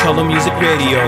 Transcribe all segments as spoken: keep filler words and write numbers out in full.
Color Music Radio.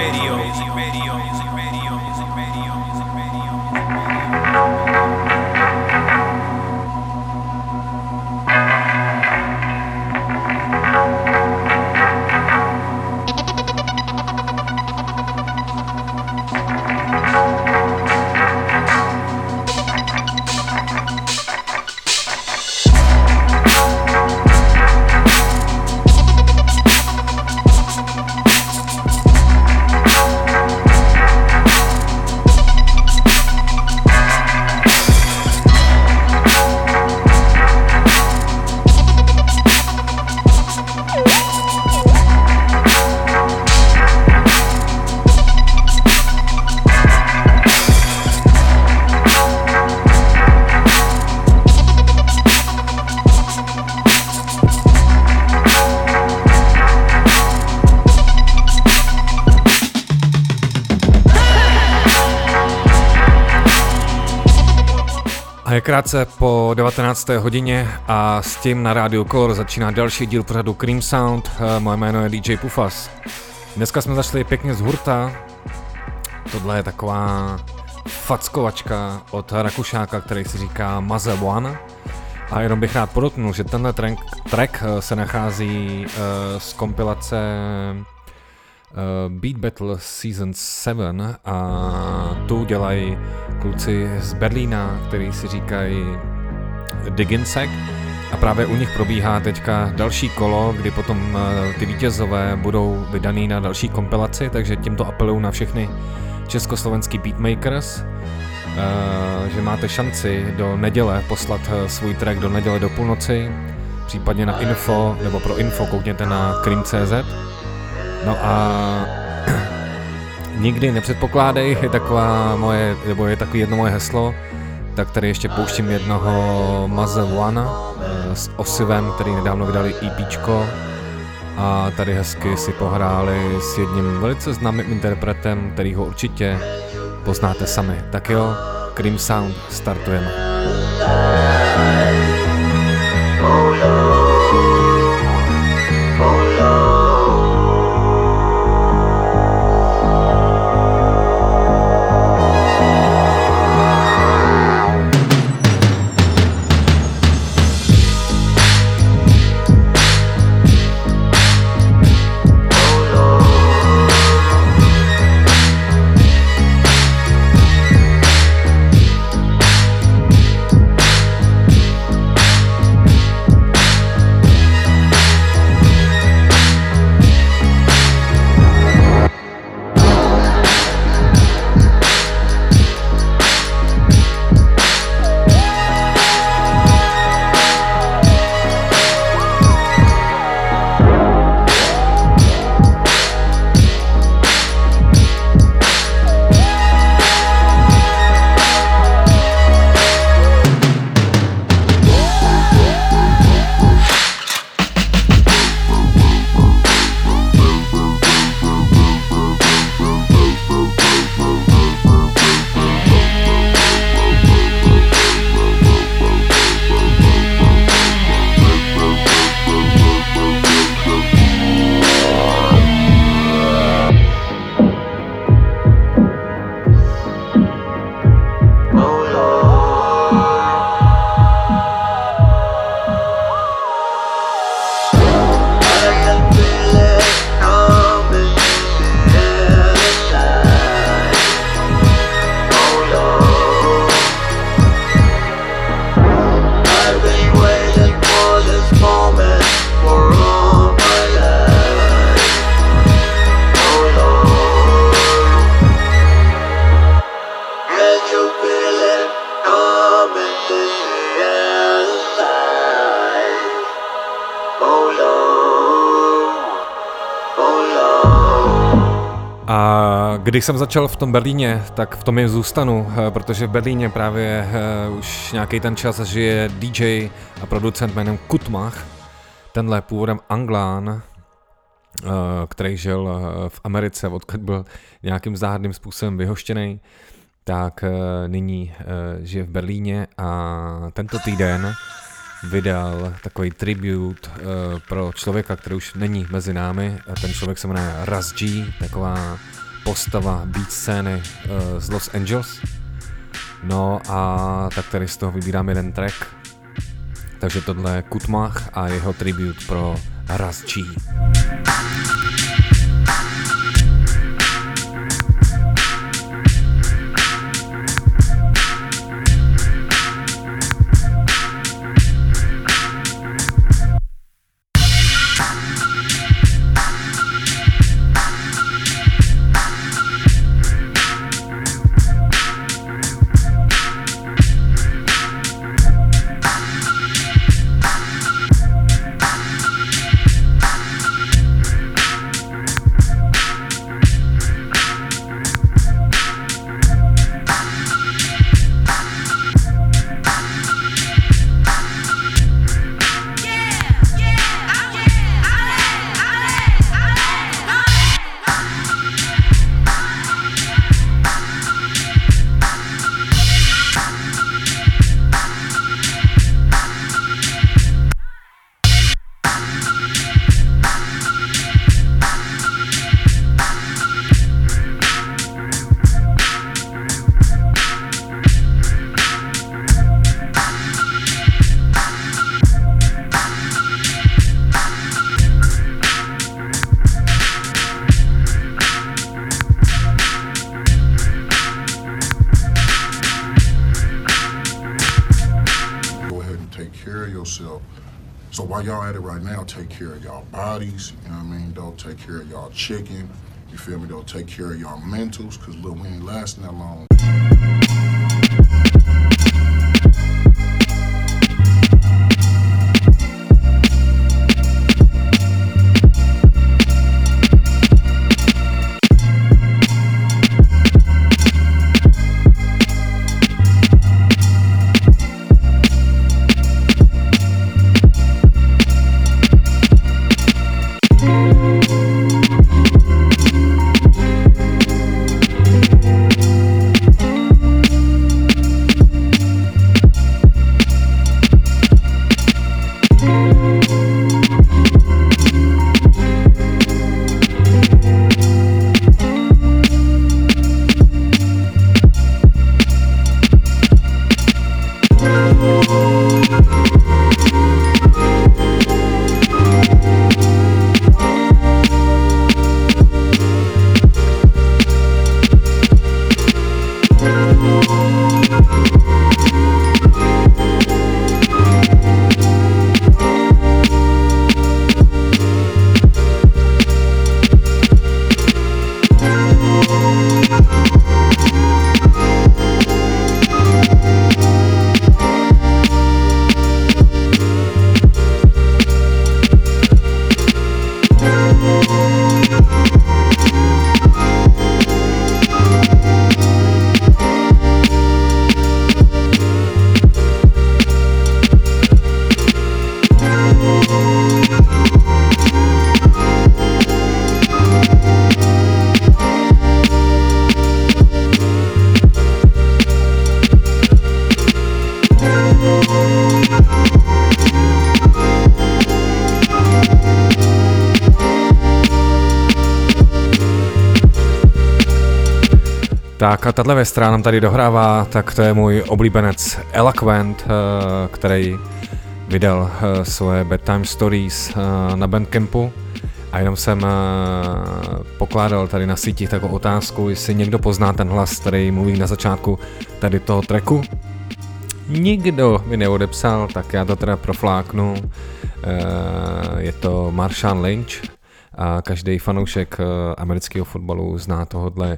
Je krátce po devatenácté hodině a s tím na rádiu Color začíná další díl pořadu Cream Sound. Moje jméno je D J Pufas. Dneska jsme zašli pěkně z hurta. Tohle je taková fackovačka od Rakušáka, který si říká Maze One. A jenom bych rád podotknul, že tenhle track, track se nachází uh, z kompilace Uh, Beat Battle Season sedm a tu dělají kluci z Berlína, který si říkají Diginsec, a právě u nich probíhá teďka další kolo, kdy potom uh, ty vítězové budou vydaný na další kompilaci, takže tímto apeluju na všechny československý beatmakers, uh, že máte šanci do neděle poslat uh, svůj track do neděle do půlnoci, případně na info, nebo pro info koukněte na cream tečka cé zet. No a nikdy nepředpokládej, je taková moje, nebo je takový jedno moje heslo, tak tady ještě pouštím jednoho Maze One s Osivem, který nedávno vydali EPčko a tady hezky si pohráli s jedním velice známým interpretem, který ho určitě poznáte sami. Tak jo, Cream Sound, startujeme. Když jsem začal v tom Berlíně, tak v tom je zůstanu, protože v Berlíně právě už nějaký ten čas žije D J a producent jménem Kutmach, tenhle původem Anglán, který žil v Americe, odkud byl nějakým záhadným způsobem vyhoštěný, tak nyní žije v Berlíně a tento týden vydal takový tribute uh, pro člověka, který už není mezi námi. Ten člověk se jmenuje Russ G, taková postava beat scény uh, z Los Angeles. No a tak tady z toho vybírám jeden track. Takže tohle je Kutmach a jeho tribute pro Russ G. Take care of y'all bodies, you know what I mean? Don't take care of y'all chicken, you feel me? Don't take care of y'all mentals, cause look, we ain't lasting that long. Tak a tahle věc nám tady dohrává, tak to je můj oblíbenec Eloquent, který vydal svoje Bedtime Stories na Bandcampu a jenom jsem pokládal tady na síti takovou otázku, jestli někdo pozná ten hlas, který mluví na začátku tady toho tracku. Nikdo mi neodepsal, tak já to teda profláknu. Je to Marshawn Lynch a každý fanoušek amerického fotbalu zná tohodle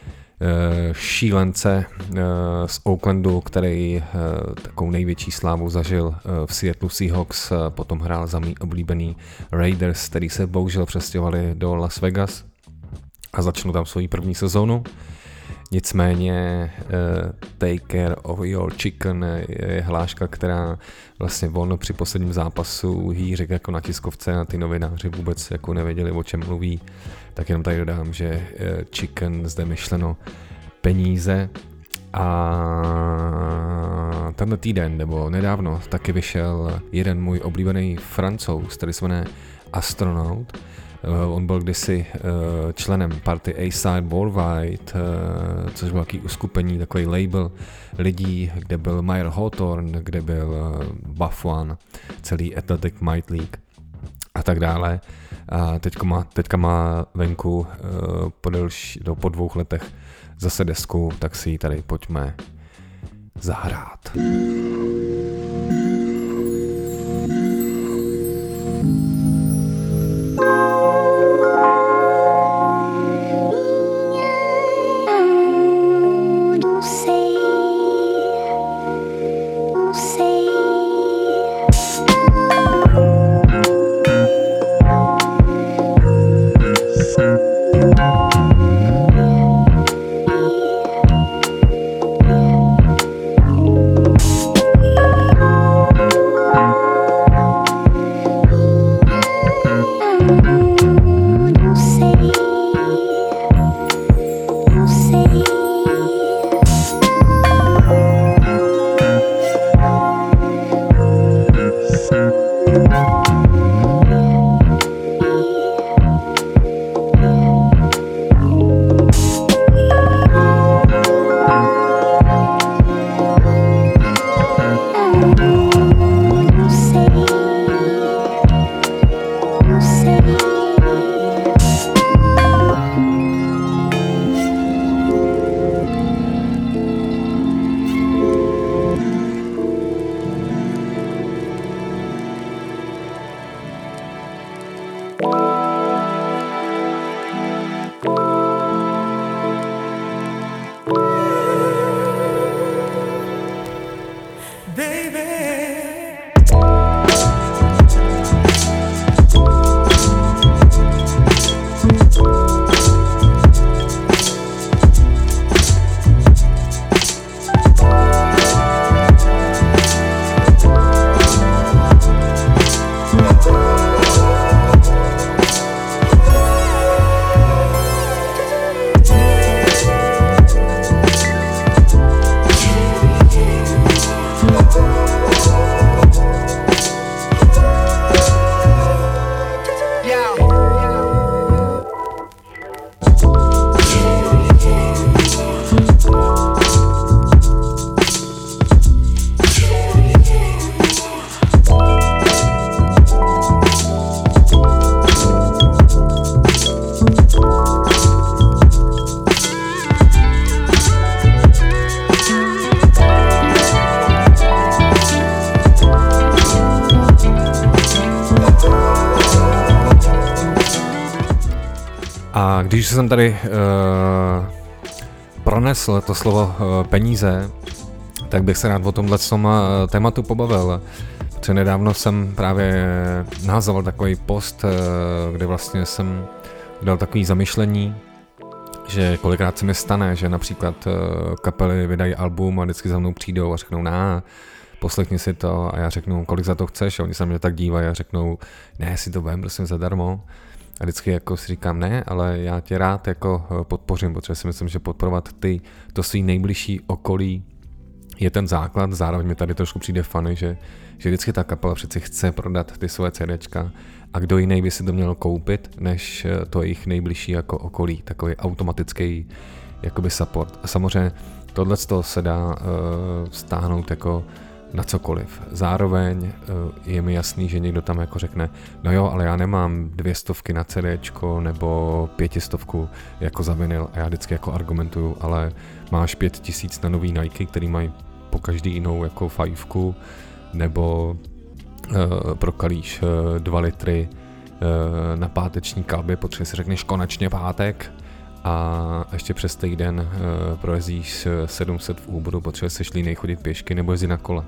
šílence z Oaklandu, který takovou největší slávu zažil v Seattle Seahawks, potom hrál za mý oblíbený Raiders, který se bohužel přestěhovali do Las Vegas a začnu tam svoji první sezónu. Nicméně uh, Take Care of Your Chicken je hláška, která vlastně on při posledním zápasu jí řekl jako na tiskovce a ty novináři vůbec jako nevěděli, o čem mluví. Tak jenom tady dodám, že uh, chicken zde myšleno peníze A tenhle týden, nebo nedávno, taky vyšel jeden můj oblíbený Francouz, který se jmenuje Astronaut. Uh, on byl kdysi uh, členem party A-Side Worldwide, uh, což byl takový uskupení, takový label lidí, kde byl Mayer Hawthorne, kde byl uh, Buff One, celý Athletic Might League a tak dále. A teďka má, teďka má venku uh, po, delší, no, po dvou letech zase desku, tak si ji tady pojďme zahrát. A když jsem tady uh, pronesl to slovo uh, peníze, tak bych se rád o tomhle uh, tématu pobavil. Protože nedávno jsem právě naházal takový post, uh, kde vlastně jsem dal takový zamyšlení, že kolikrát se mi stane, že například uh, kapely vydají album a vždycky za mnou přijdou a řeknou, ná, poslechni si to, a já řeknu, kolik za to chceš, a oni se mě tak dívají a řeknou, ne, si to vem, prosím, zadarmo. A vždycky jako si říkám, ne, ale já tě rád jako podpořím, protože si myslím, že podporovat ty, to svý nejbližší okolí je ten základ. Zároveň mi tady trošku přijde funny, že, že vždycky ta kapela přeci chce prodat ty svoje CDčka a kdo jiný by si to měl koupit, než to jejich nejbližší jako okolí, takový automatický jakoby support. A samozřejmě tohle se dá uh, stáhnout jako na cokoliv. Zároveň je mi jasný, že někdo tam jako řekne, no jo, ale já nemám dvě stovky na CDčko nebo pětistovku jako za vinyl, a já vždycky jako argumentuju, ale máš pět tisíc na nový Nike, který mají po každý jinou jako fajfku, nebo uh, prokalíš uh, dva litry uh, na páteční kalby, protože si řekneš konečně pátek, a ještě přes týden uh, projezdíš sedm set v Uberu, protože jsi línej chodit pěšky nebo jezdit na kole.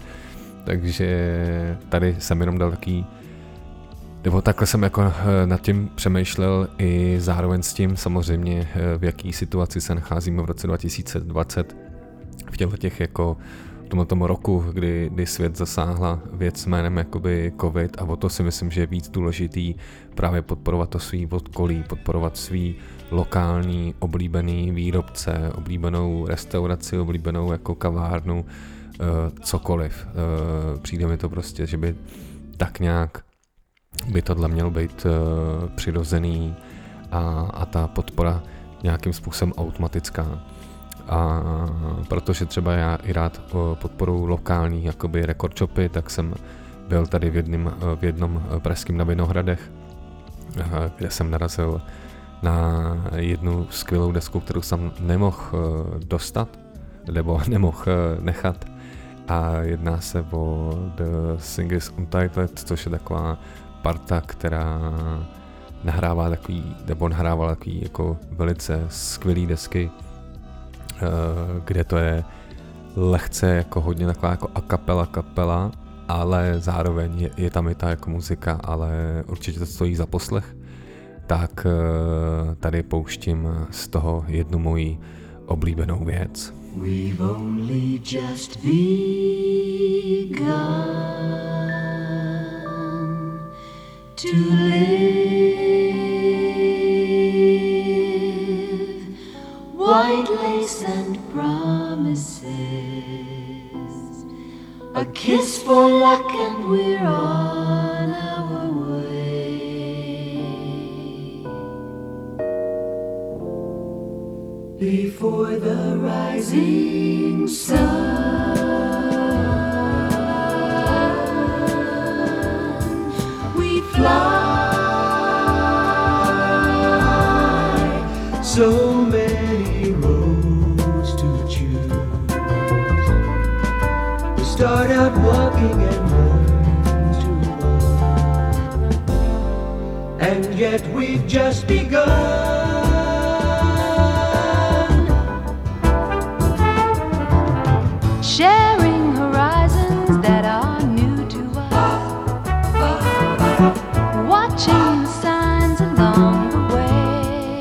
Takže tady jsem jenom dal taký, nebo takhle jsem jako uh, nad tím přemýšlel i zároveň s tím samozřejmě, uh, v jaký situaci se nacházíme v roce dva tisíce dvacet v těchto těch jako tomhle tomu roku, kdy, kdy svět zasáhla věc jménem jakoby covid a o to si myslím, že je víc důležitý právě podporovat to svý okolí, podporovat svý lokální oblíbený výrobce, oblíbenou restauraci, oblíbenou jako kavárnu, uh, cokoliv. Uh, přijde mi to prostě, že by tak nějak by tohle mělo být uh, přirozený a, a ta podpora nějakým způsobem automatická. A protože třeba já i rád podporuji lokální jakoby record shopy, tak jsem byl tady v, jedním, v jednom pražském na Vinohradech, kde jsem narazil na jednu skvělou desku, kterou jsem nemohl dostat, nebo nemohl nechat. A jedná se o The Singers Untitled, což je taková parta, která nahrává takový, nebo nahrávala takový jako velice skvělý desky, kde to je lehce jako hodně taková jako a cappella kapela, ale zároveň je, je tam i ta jako muzika, ale určitě to stojí za poslech. Tak tady pouštím z toho jednu moji oblíbenou věc. We've only just begun to live, white lace and promises, a kiss for luck and we're on our way. Before the rising sun, we fly, so many roads to choose. We start out walking and learn to walk, and yet we've just begun. Sharing horizons that are new to us, watching signs along the way,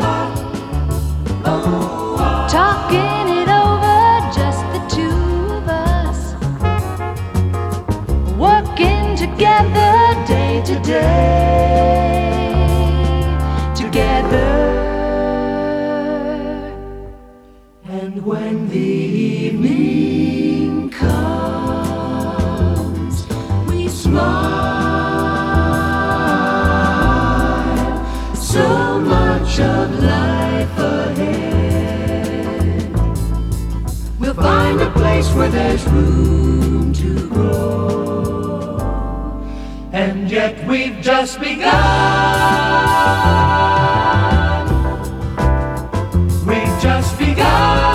talking it over, just the two of us, working together day to day, together. And when the evening comes, we smile, so much of life ahead. We'll find a place where there's room to grow, and yet we've just begun. We've just begun.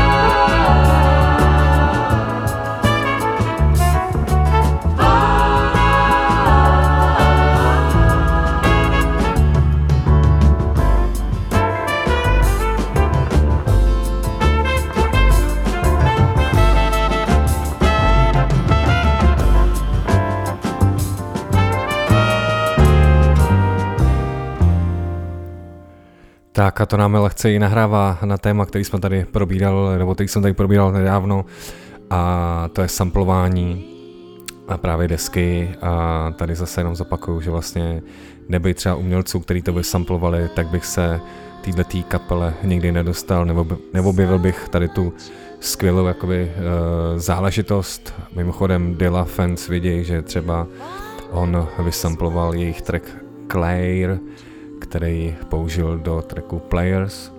Tak a to nám lehce i nahrává na téma, který jsme tady probíral, nebo který jsem tady probíral nedávno, a to je samplování a právě desky. A tady zase jenom zopakuju, že vlastně nebej třeba umělců, který to by samplovali, tak bych se týhletý kapele nikdy nedostal, nebo neobjevil bych tady tu skvělou jakoby, uh, záležitost. Mimochodem Dilla fans vidějí, že třeba on vysamploval jejich track Claire, který použil do tracku Players.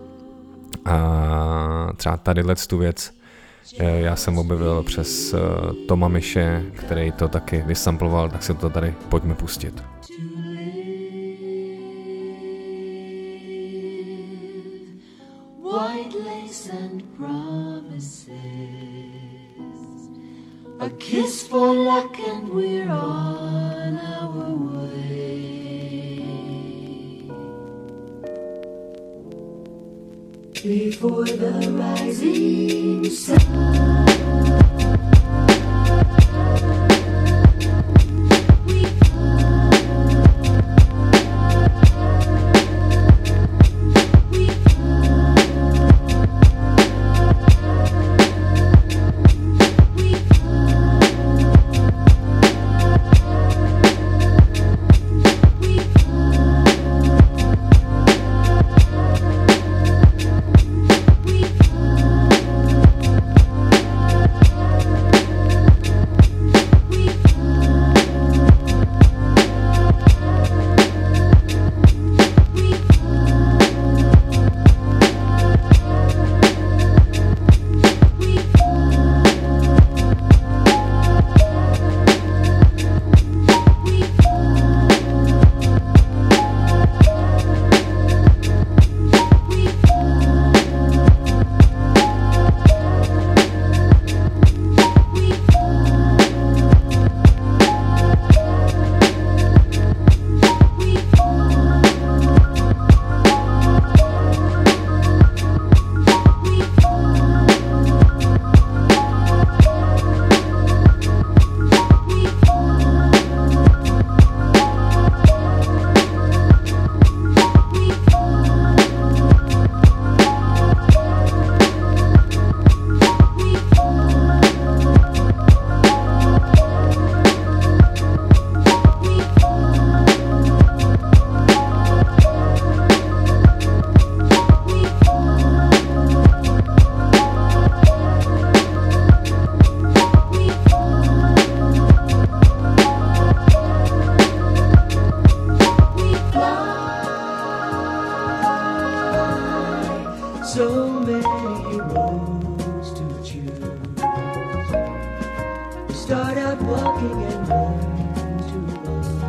A třeba tadyhle tu věc já jsem objevil přes Toma Miše, který to taky vysamploval, tak si to tady pojďme pustit. White lace and promises, a kiss for luck and we're on our way. Before the rising sun, we fly, we fly, we fly. so many roads to choose. You start out walking and learn to run.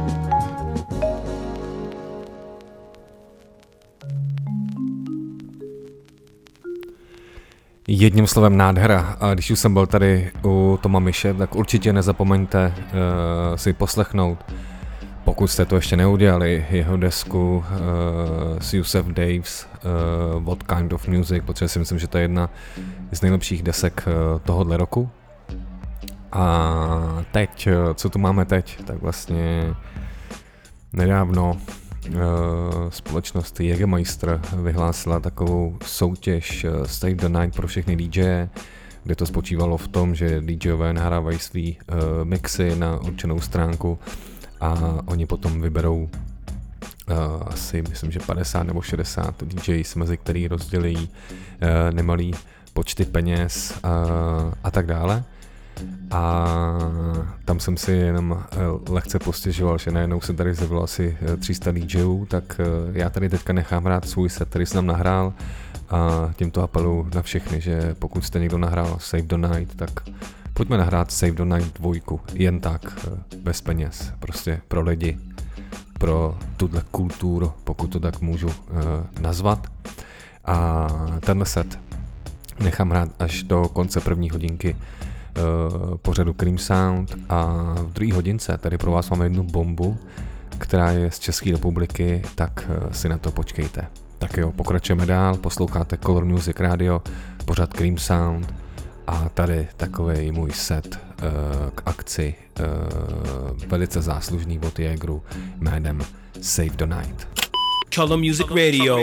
Jedním slovem nádhera. A když už jsem byl tady u Toma Mishe, tak určitě nezapomeňte uh, si poslechnout, pokud jste to ještě neudělali, jeho desku uh, s Yusef Daves, uh, What Kind of Music, protože si myslím, že to je jedna z nejlepších desek uh, tohohle roku. A teď, uh, co tu máme teď, tak vlastně nedávno uh, společnost Jägermeister vyhlásila takovou soutěž uh, Save the Night pro všechny DJe, kde to spočívalo v tom, že DJové nahrávají svý uh, mixy na určenou stránku a oni potom vyberou uh, asi, myslím, že padesát nebo šedesát D Js, mezi který rozdělí uh, nemalý počty peněz uh, a tak dále. A tam jsem si jenom uh, lehce postěžoval, že najednou se tady zjevilo asi tři sta DJů, tak uh, já tady teďka nechám hrát svůj set, který jsem nahrál, a tímto apelu na všechny, že pokud jste někdo nahrál Save the Night, tak pojďme nahrát Save the Night dvojku, jen tak, bez peněz, prostě pro lidi, pro tuhle kulturu, pokud to tak můžu uh, nazvat. A tenhle set nechám hrát až do konce první hodinky uh, pořadu Cream Sound a v druhé hodince tady pro vás máme jednu bombu, která je z České republiky, tak uh, si na to počkejte. Tak jo, pokračujeme dál, posloucháte Color Music Radio, pořad Cream Sound a tady takovej můj set uh, k akci uh, velice záslužný od Jägeru jménem Save the Night. Color Music Radio.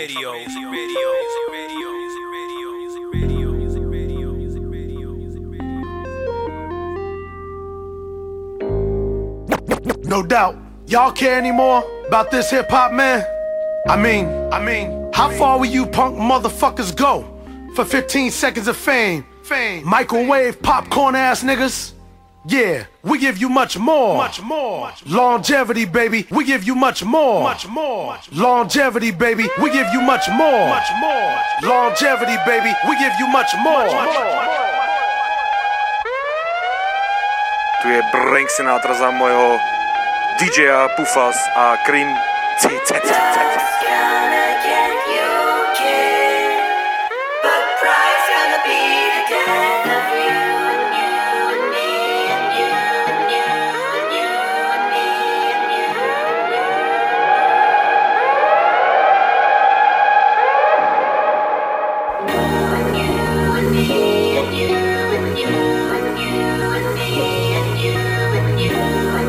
No doubt, y'all care anymore about this hip hop, man? I mean, I mean, how far will you punk motherfuckers go for fifteen seconds of fame? Fame. Microwave popcorn ass niggas? Yeah, we give you much more. Much more. Longevity, baby, we give you much more. Much more. Longevity, baby, we give you much more. Much more. Longevity, baby, we give you much more. Tu je Frank Sinatra za mojho D J Pufas a Cream C C C C.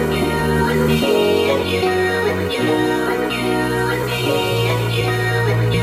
You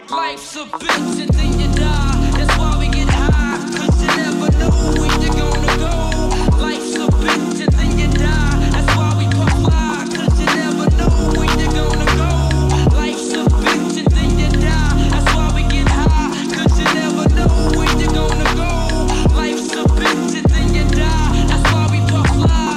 Life's a bitch and then you die. That's why we get high, cause you never know when you're gonna go. Life's a bitch and then you die. That's why we puff fly, cause you never know when you're gonna go. Life's a bitch and then you die. That's why we get high, cause you never know when you're gonna go. Life's a bitch and then you die. That's why we puff fly.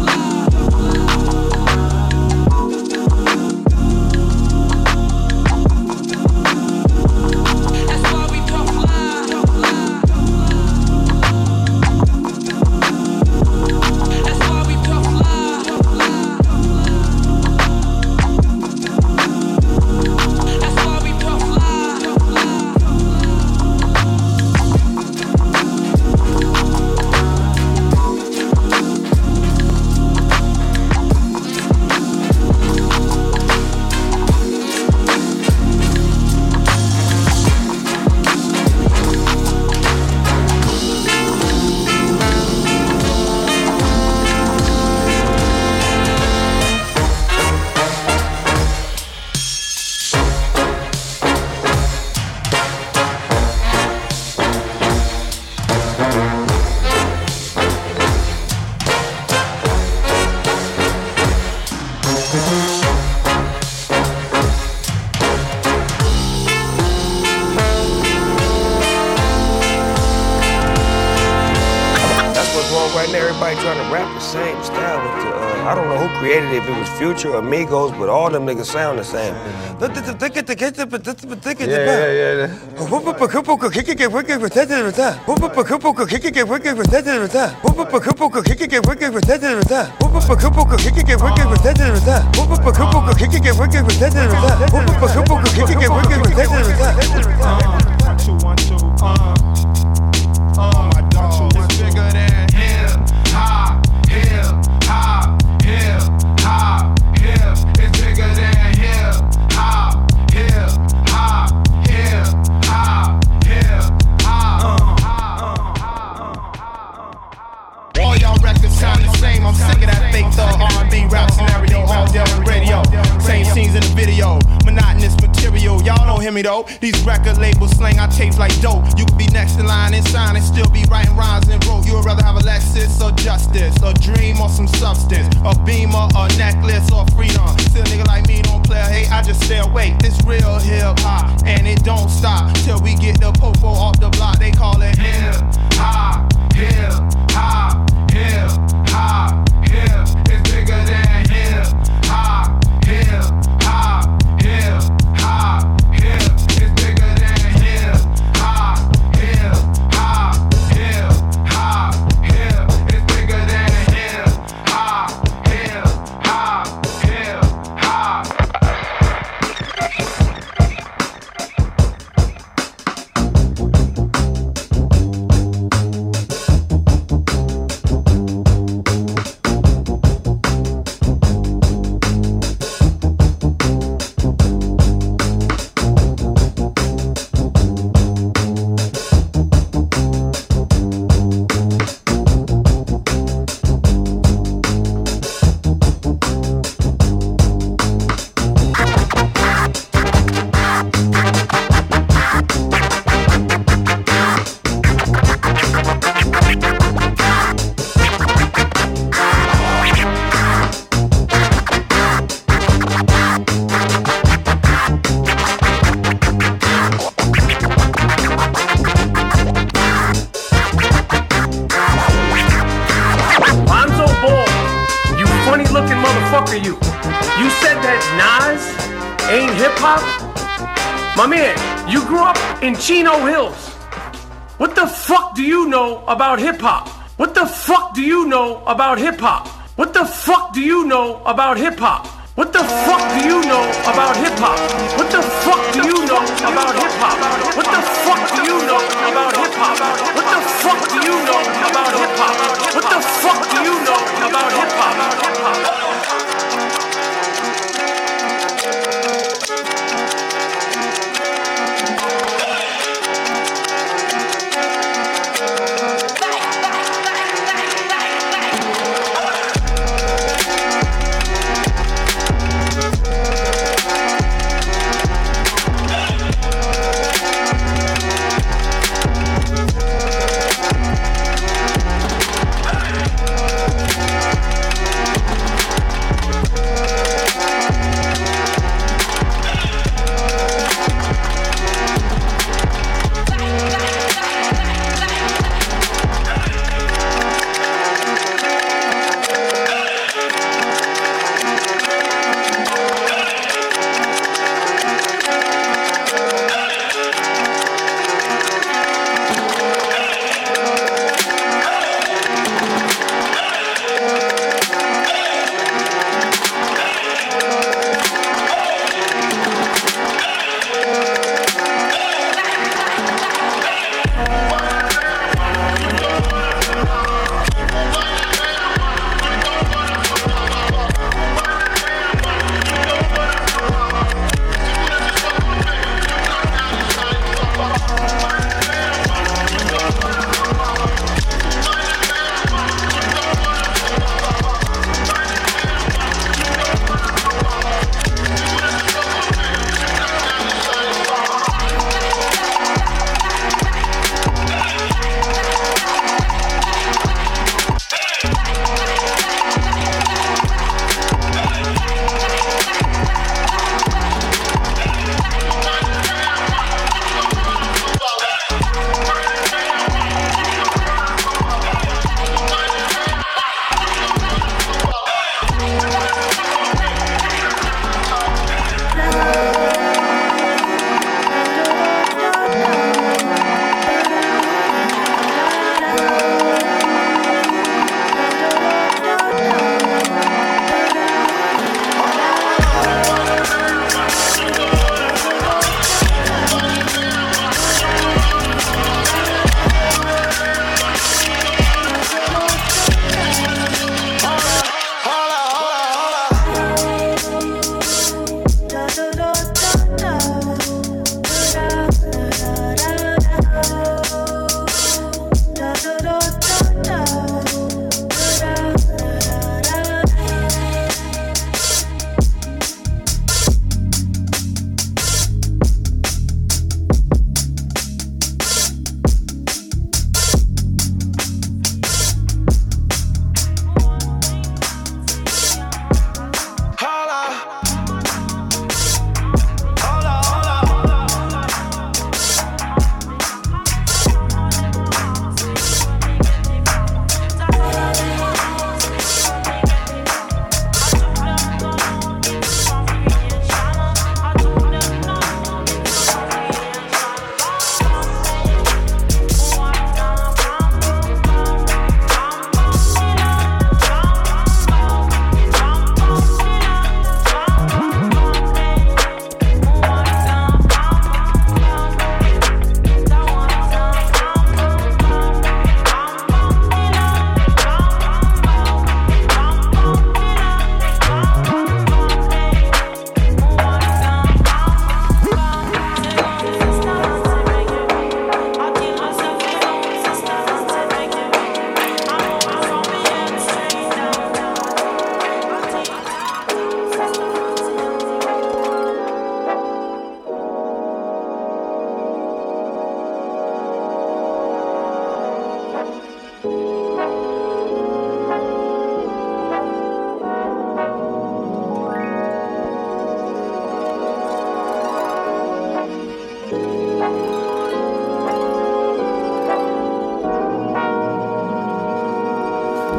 If it was Future or Migos, but all them niggas sound the same. Though. These record labels slang our tapes like dope. You could be next in line and sign and still be writing rhymes and wrote. You would rather have a Lexus or justice, a dream or some substance, a beamer or necklace or freedom. Still a nigga like me don't play a hate, I just stay awake. This real hip hop and it don't stop till we get the popo off the block. They call it hip hop, hip hop, hip hop, hip. It's bigger than hip hop, hip hop, hip hop. In Chino Hills. What the fuck do you know about hip hop? What the fuck do you know about hip hop? What the fuck do you know about hip hop? What the fuck do you know about hip hop? What the fuck do you know about hip hop? What the fuck do you know about hip hop? What the fuck do you know about hip hop? What the fuck do you know about hip hop?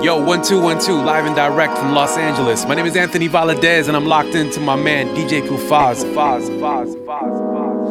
Yo, one two one two, live and direct from Los Angeles. My name is Anthony Valadez, and I'm locked into my man D J Pufaz. Faz, Faz, Faz.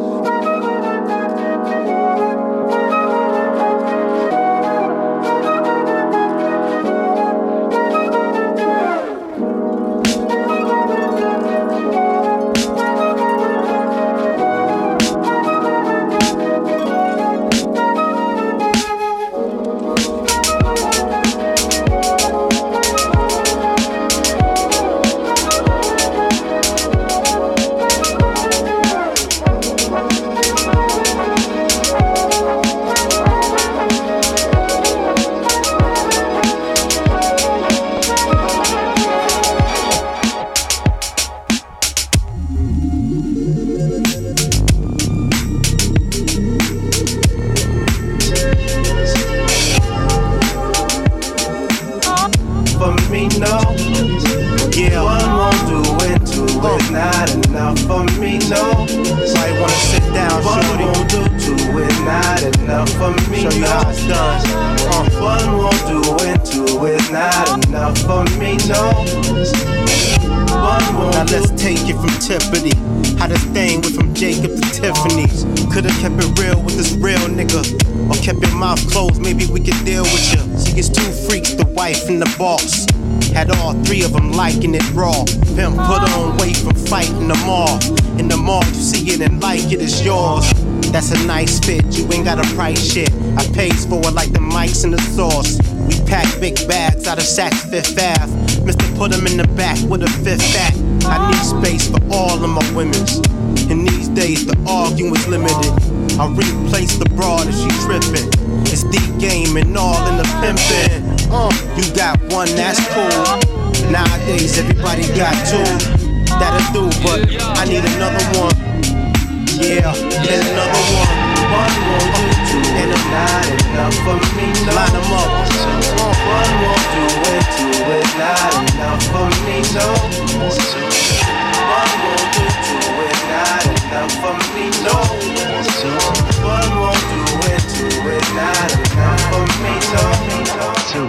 Boss had all three of them liking it raw. Pimp put on weight from fighting the mall. In the mall, you see it and like it, it's yours. That's a nice fit, you ain't got a price shit. I pays for it like the mics and the sauce. We pack big bags out of Saks Fifth Ave. Mister put them in the back with a fifth back. I need space for all of my women's. In these days, the arguing's limited. I replace the broad if she trippin'. It's the game and all in the pimpin'. Uh, you got one, that's cool. Nowadays, everybody got two. That'll do, but I need another one. Yeah, and another one. One won't do two, and I'm not enough for me. No. Line them up. Uh, one won't do it, two is not enough for me. No. One won't do two, is not enough for me. No. One won't do it, two is not enough for me. No. Two.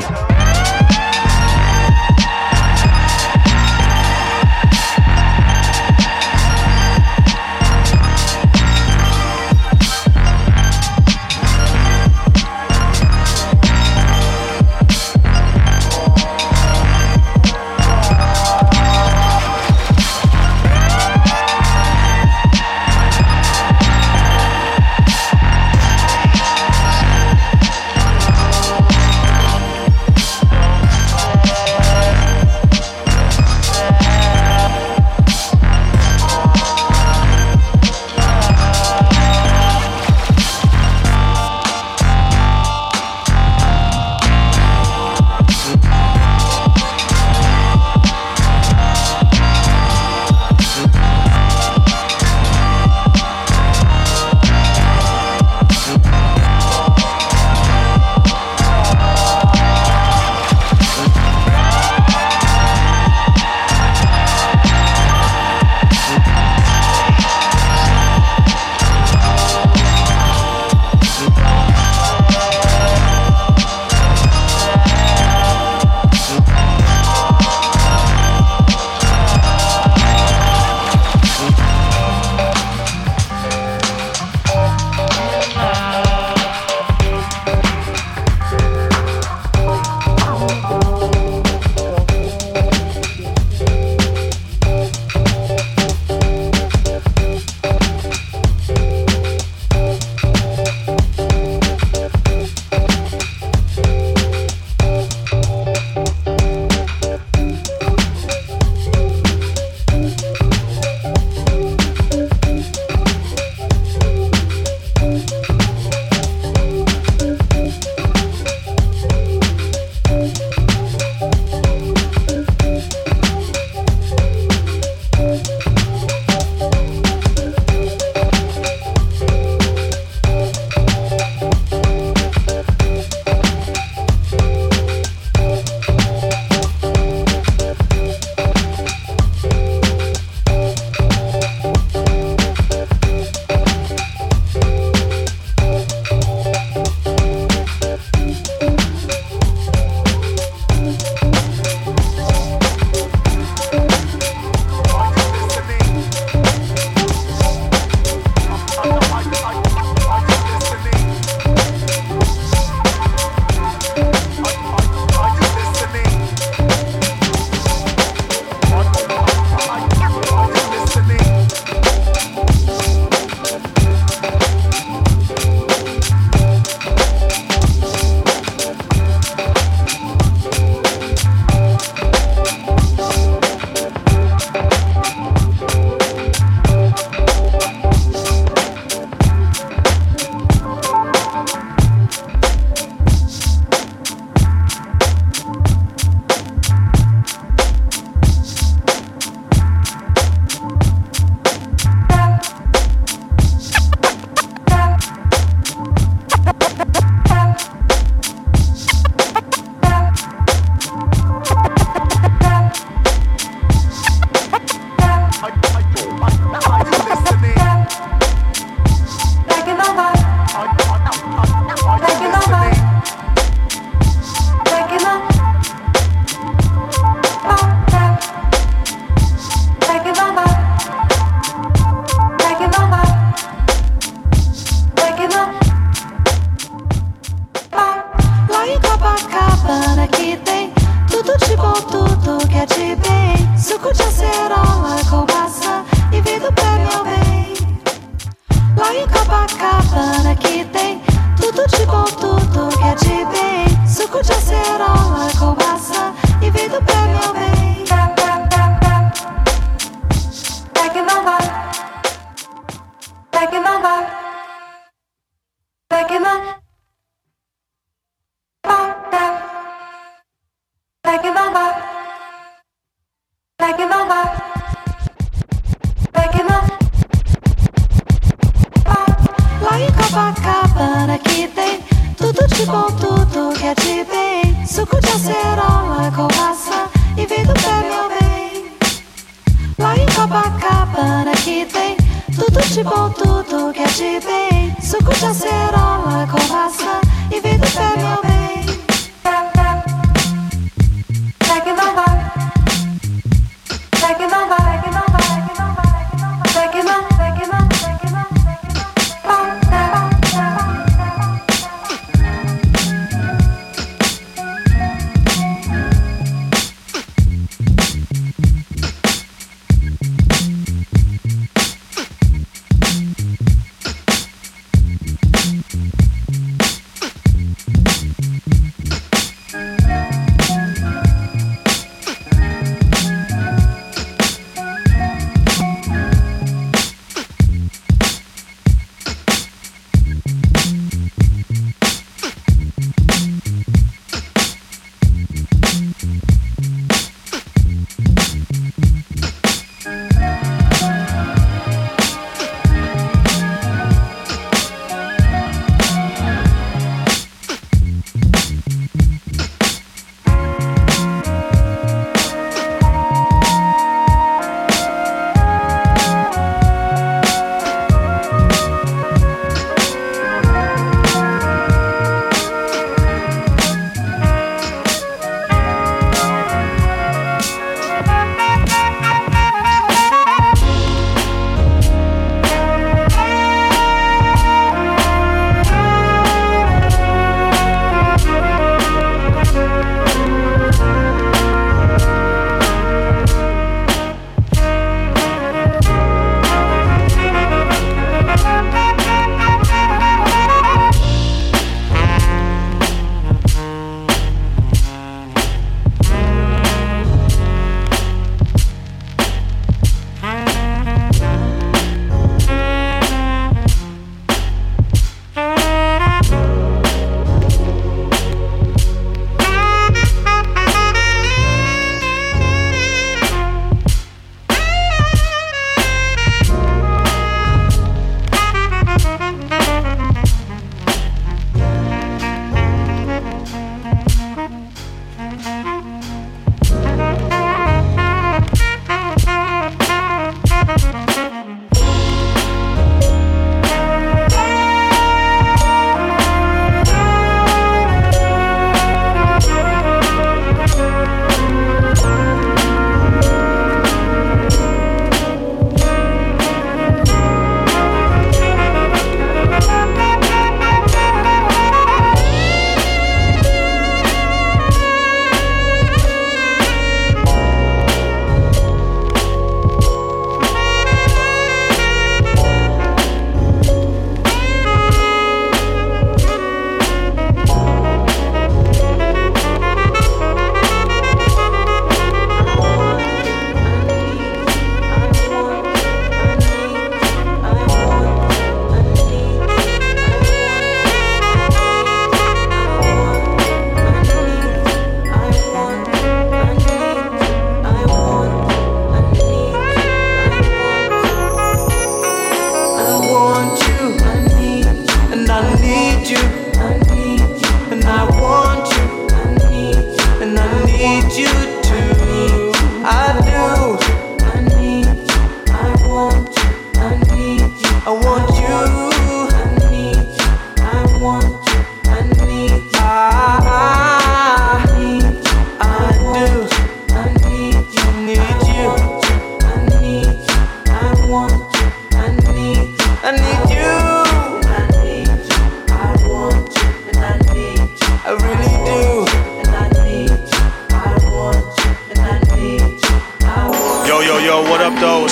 Copacabana que tem tudo de bom, tudo que é de bem. Suco de acerola com maçã e vem do pé, meu bem. É que não vai, é que não vai, é que não vai, é que não vai, é que não vai, é que não. Lá em Copacabana que tem tudo de bom, tudo que é de bem. Suco de acerola com maçã e vem do pé, meu bem. Lá em Copacabana que tem tudo de bom, tudo que é de bem. Suco de acerola com maçã e vem do pé, meu bem. É que não vai, é que não vai, é que não vai, é que não vai, é que não, é que não, é que não.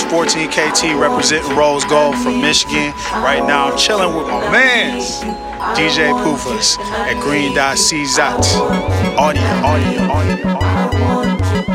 fourteen K T representing Rose Gold from Michigan. Right now I'm chilling with my mans, D J Pufas at Green Dot C Z A T. Audio, audio, audio, audio.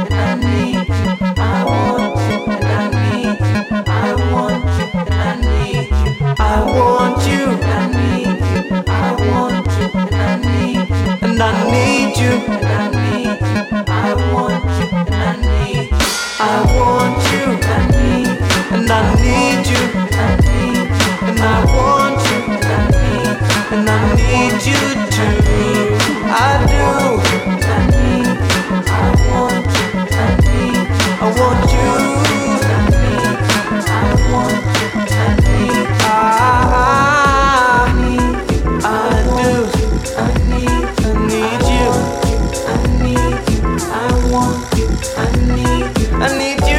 I want you, I need you, I want you, I need you, and I need you, I need you, I want you, I need you, I want you, I need you, and I need you, I need you, and I want you, I need you, and I need you too. I do, I need you, I want you, I need you, I want you, I need you, I want you, I need you. I need you, I do, I need, I need you, I need you, I want you, I need you, I need you.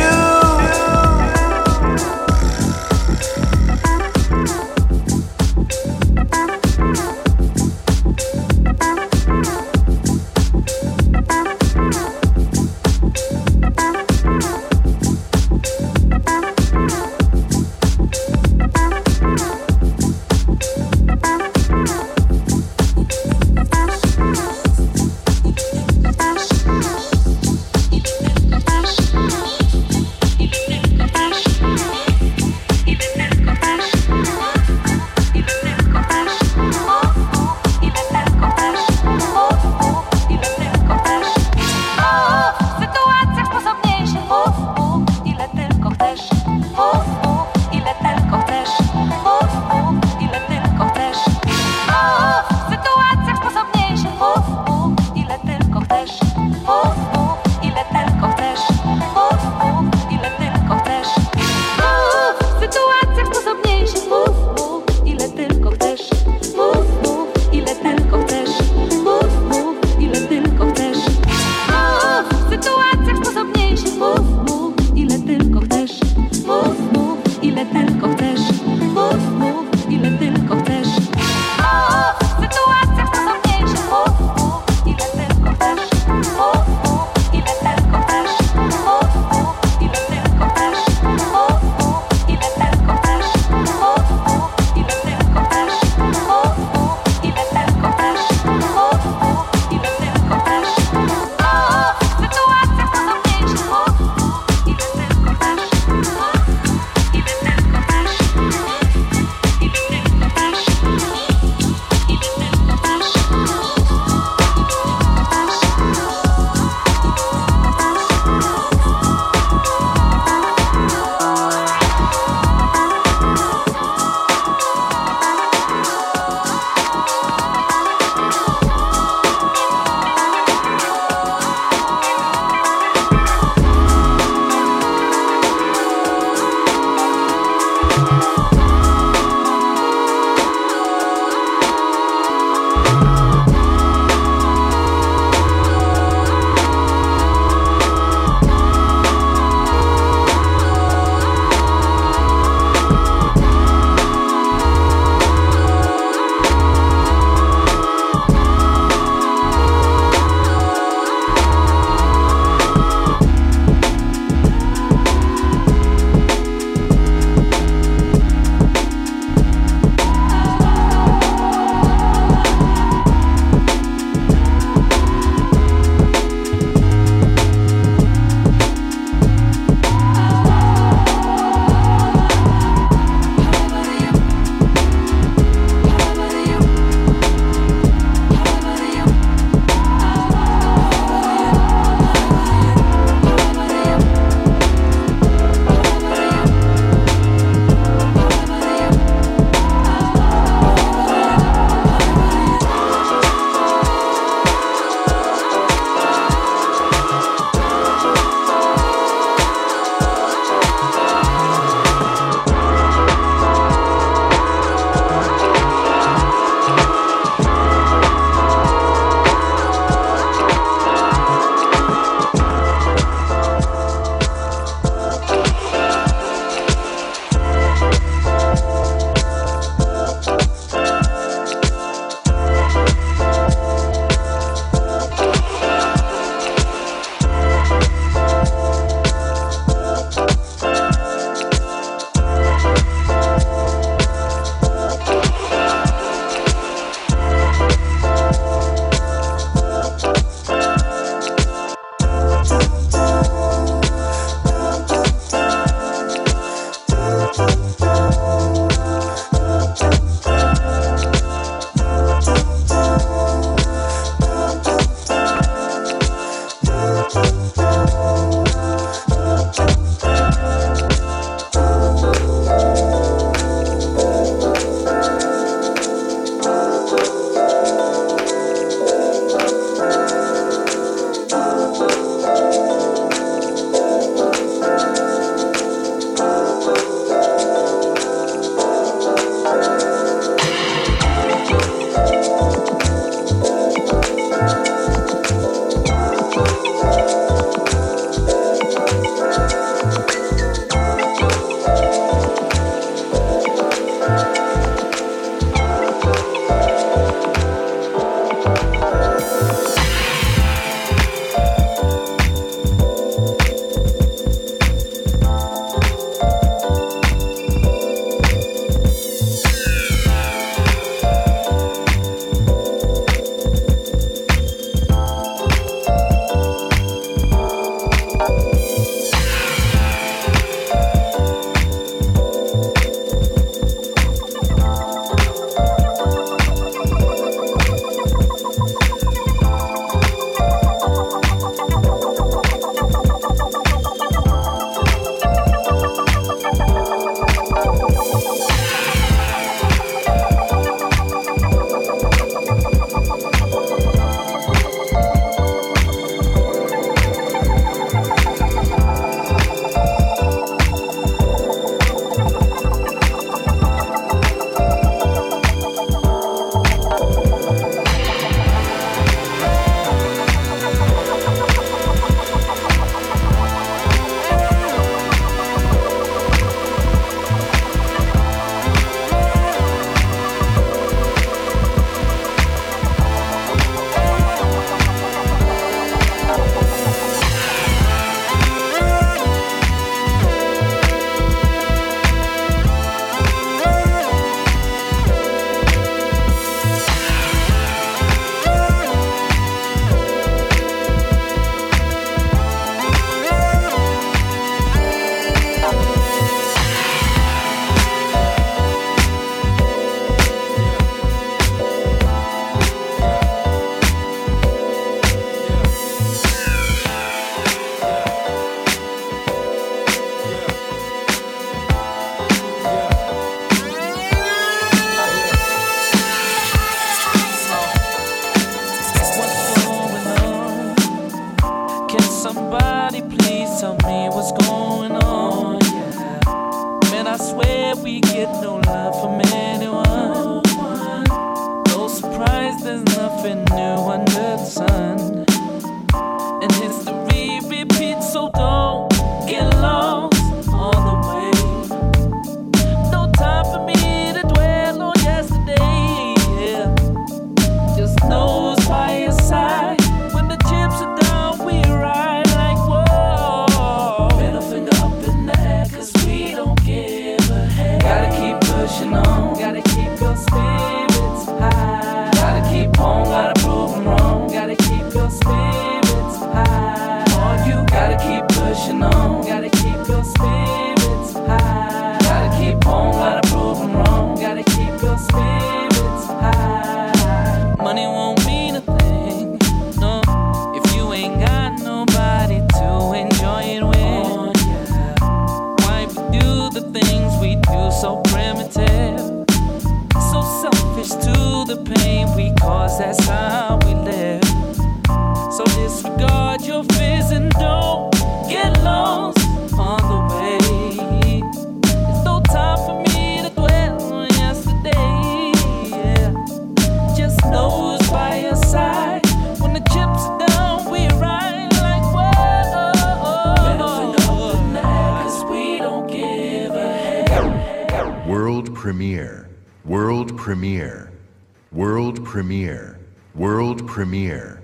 selfish to the pain we cause, that's how we live. So disregard your fears and don't get lost on the way. There's no time for me to dwell on yesterday. Yeah. Just know it's by your side. When the chips are down, we ride like whoa. Living up the night, 'cause we don't give a heck. World premiere. World premiere. World premiere. World premiere.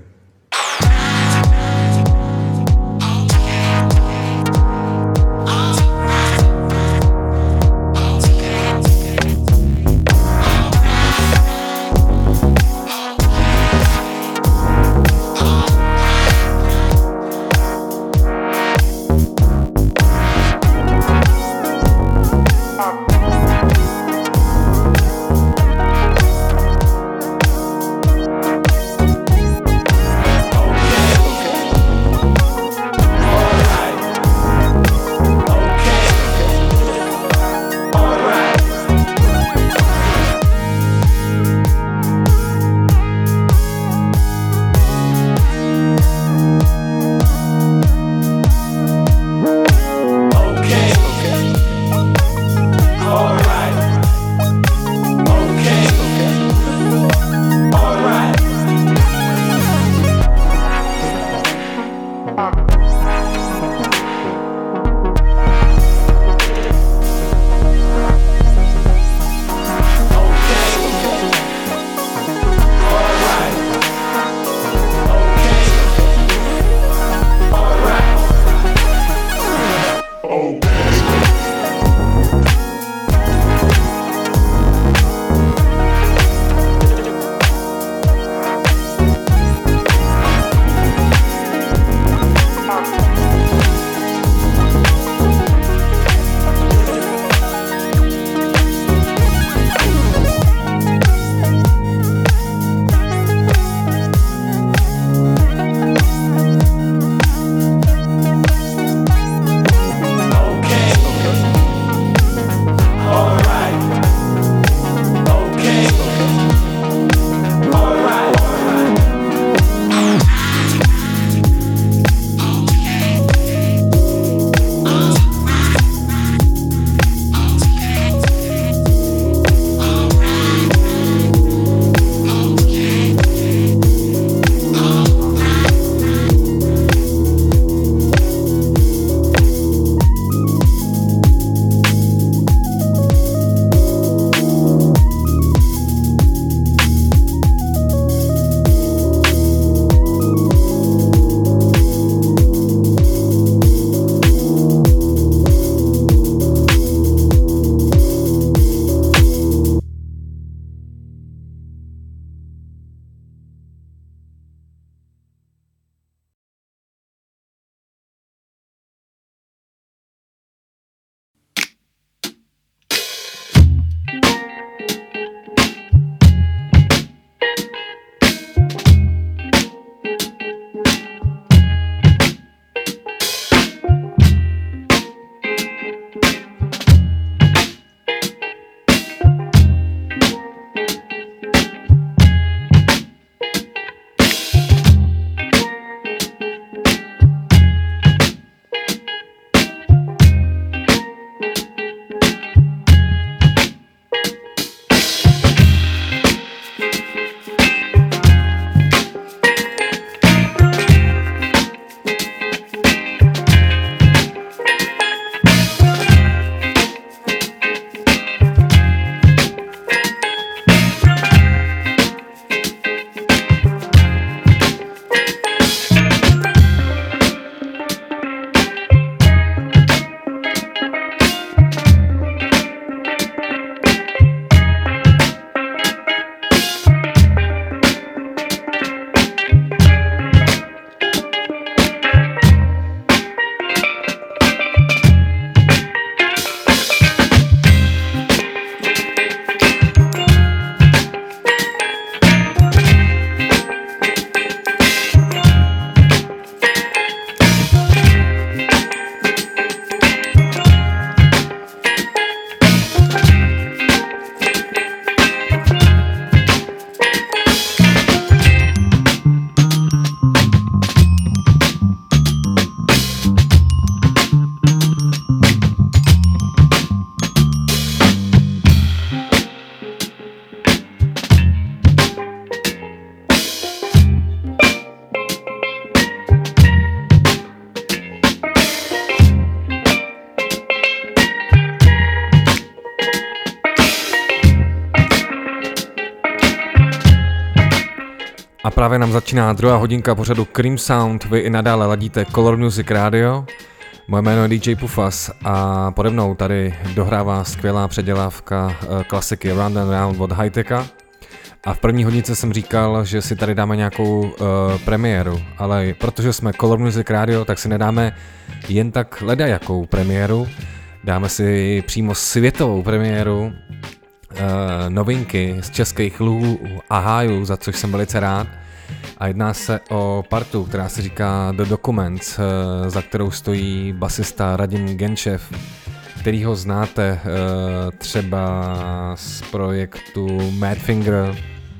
A právě nám začíná druhá hodinka pořadu Cream Sound, vy i nadále ladíte Color Music Radio. Moje jméno je D J Pufas a pode mnou tady dohrává skvělá předělávka klasiky Round and Round od Hi-Techa. A v první hodince jsem říkal, že si tady dáme nějakou uh, premiéru, ale protože jsme Color Music Radio, tak si nedáme jen tak ledajakou premiéru. Dáme si přímo světovou premiéru, uh, novinky z českých lů a hájů, za což jsem velice rád. A jedná se o partu, která se říká The Documents, uh, za kterou stojí basista Radim Genčev, kterýho znáte uh, třeba z projektu Madfinger.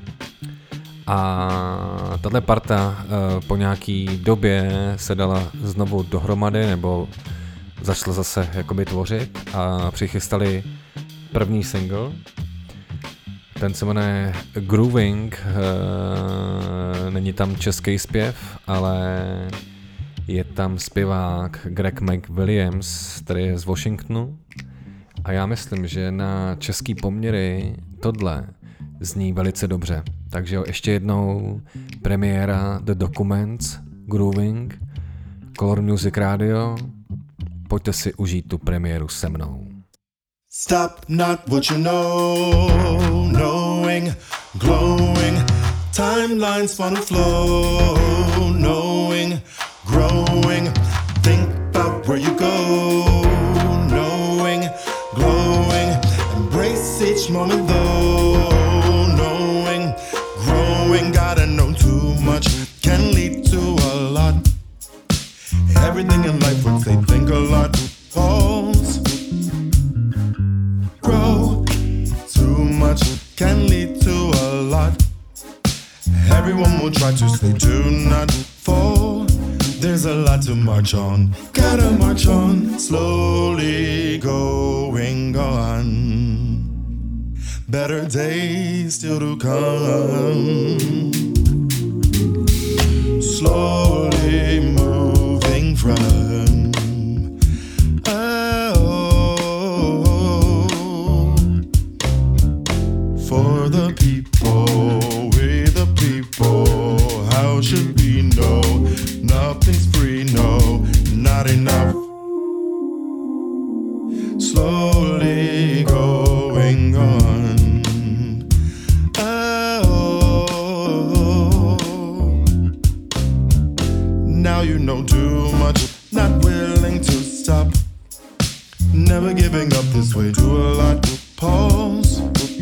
A tato parta uh, po nějaký době se dala znovu dohromady, nebo začala zase jakoby tvořit a přichystali první single. Ten se jmenuje Grooving, uh, není tam český zpěv, ale je tam zpěvák Greg McWilliams, který je z Washingtonu. A já myslím, že na český poměry tohle zní velice dobře. Takže jo, ještě jednou premiéra The Documents, Grooving, Color Music Radio. Pojďte si užít tu premiéru se mnou. Stop not what you know, knowing, glowing, timelines fun and flow, knowing, growing, think about where you go, knowing, glowing, embrace each moment though, knowing, growing, gotta know too much, can lead to a lot, everything in life would say think a lot, pause, grow, too much can lead to a lot, everyone will try to say do not fall, there's a lot to march on, gotta march on, slowly going on, better days still to come, slowly moving from oh, for the people, we the people, how should we know? Nothing's free, no, not enough. Slowly going on. Oh, now you know too much, not willing to stop. Never giving up this way, do a lot. Pause,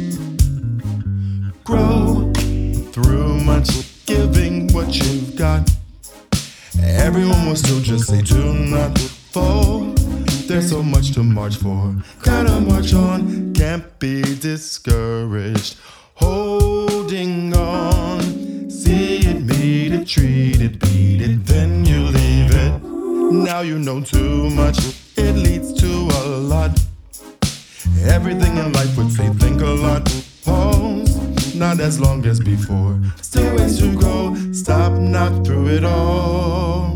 grow through much, giving what you've got. Everyone will still just say do not fall. There's so much to march for. Gotta march on, can't be discouraged. Holding on, see it, meet it, treat it, beat it, then you leave it. Now you know too much, it leads to a lot. Everything in life would say think a lot. Pause, not as long as before. Still ways to go, stop not through it all.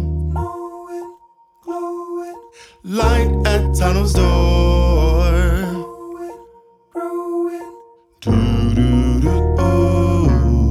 Light at tunnel's door. Do do do oh.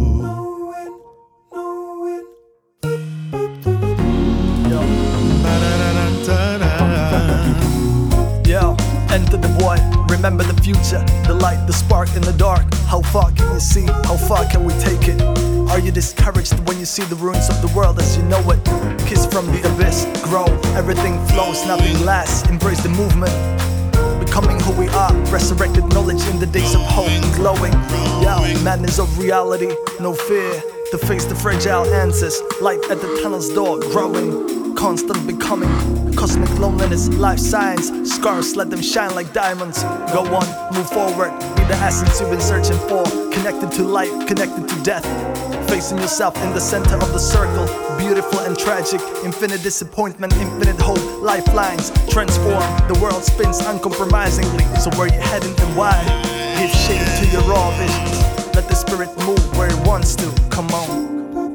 Yo, enter the void. Remember the future, the light, the spark in the dark. How far can you see? How far can we take it? Are you discouraged when you see the ruins of the world as you know it? Kiss from the abyss, grow, everything flows, nothing lasts. Embrace the movement, becoming who we are. Resurrected knowledge in the days of hope, glowing. Yeah, madness of reality, no fear to face the fragile answers. Light at the tunnel's door, growing, constant becoming. Cosmic loneliness, life science, scars, let them shine like diamonds. Go on, move forward, be the essence you've been searching for. Connected to light, connected to death. Facing yourself in the center of the circle, beautiful and tragic, infinite disappointment, infinite hope, lifelines transform, the world spins uncompromisingly. So where you heading and why? Give shape to your raw visions, let the spirit move where it wants to, come on.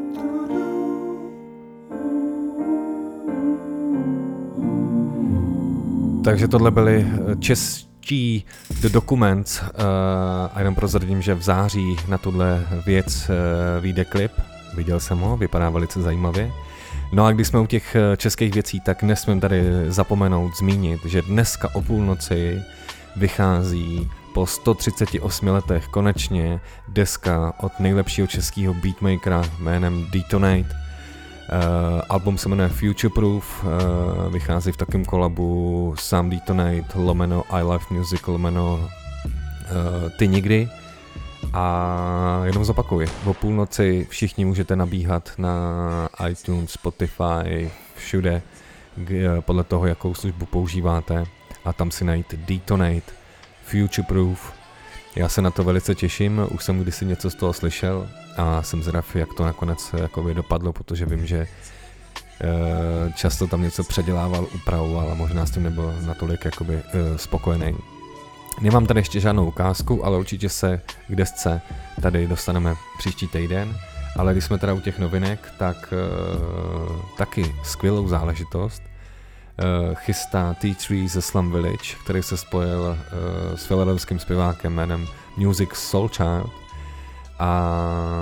Takže tohle byly čeští The Documents uh, a jenom prozradím, že v září na tuhle věc uh, vyjde klip viděl jsem ho, vypadá velice zajímavě. No a když jsme u těch českých věcí, tak nesmím tady zapomenout zmínit, že dneska o půlnoci vychází po sto třicet osmi letech konečně deska od nejlepšího českého beatmakera jménem Detonate. Uh, album se jmenuje Future Proof, uh, vychází v takém kolabu Sam Detonate, lomeno I Love Music, lomeno uh, Ty nikdy. A jenom zopakuji, o půlnoci všichni můžete nabíhat na iTunes, Spotify, všude, g- podle toho, jakou službu používáte, a tam si najít Detonate, Future Proof. Já se na to velice těším, už jsem kdysi něco z toho slyšel a jsem zvědav, jak to nakonec jakoby dopadlo, protože vím, že e, často tam něco předělával, upravoval a možná s tím nebyl natolik jakoby e, spokojený. Nemám tady ještě žádnou ukázku, ale určitě se k desce tady dostaneme příští týden. Ale když jsme teda u těch novinek, tak e, taky skvělou záležitost e, chystá T tři ze Slum Village, který se spojil e, s philadelphským zpěvákem jménem Musiq Soulchild a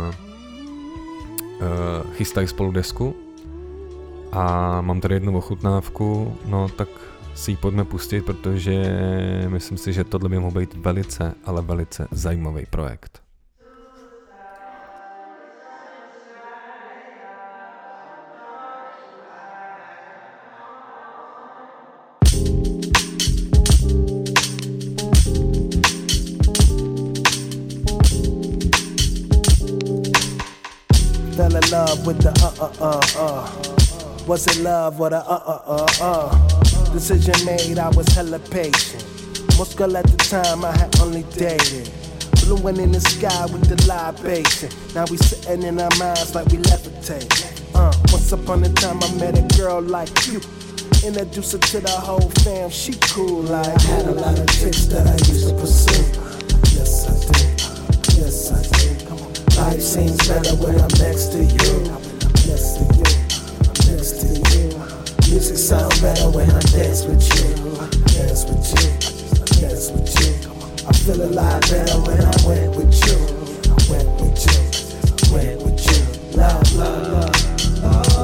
e, chystají spolu desku. A mám tady jednu ochutnávku, no tak si ji pojďme pustit, protože myslím si, že tohle by mohl být velice, ale velice zajímavý projekt. Fell in love with the uh uh uh uh. Was in love with a uh uh uh uh. Decision made, I was hella patient. Most girl at the time I had only dated. Blowing in the sky with the libation. Now we sitting in our minds like we levitate. Uh, once upon a time I met a girl like you. Introduced her to the whole fam, she cool like. I had a lot of chicks that I used to pursue. Yes I did, yes I did. Come on. Life seems better when I'm next to you. Next to you, next to you. Music sound better when I dance with you. Dance with you, dance with you. I feel a lot better when I went with you. I went with you, went with you. Love, love, love,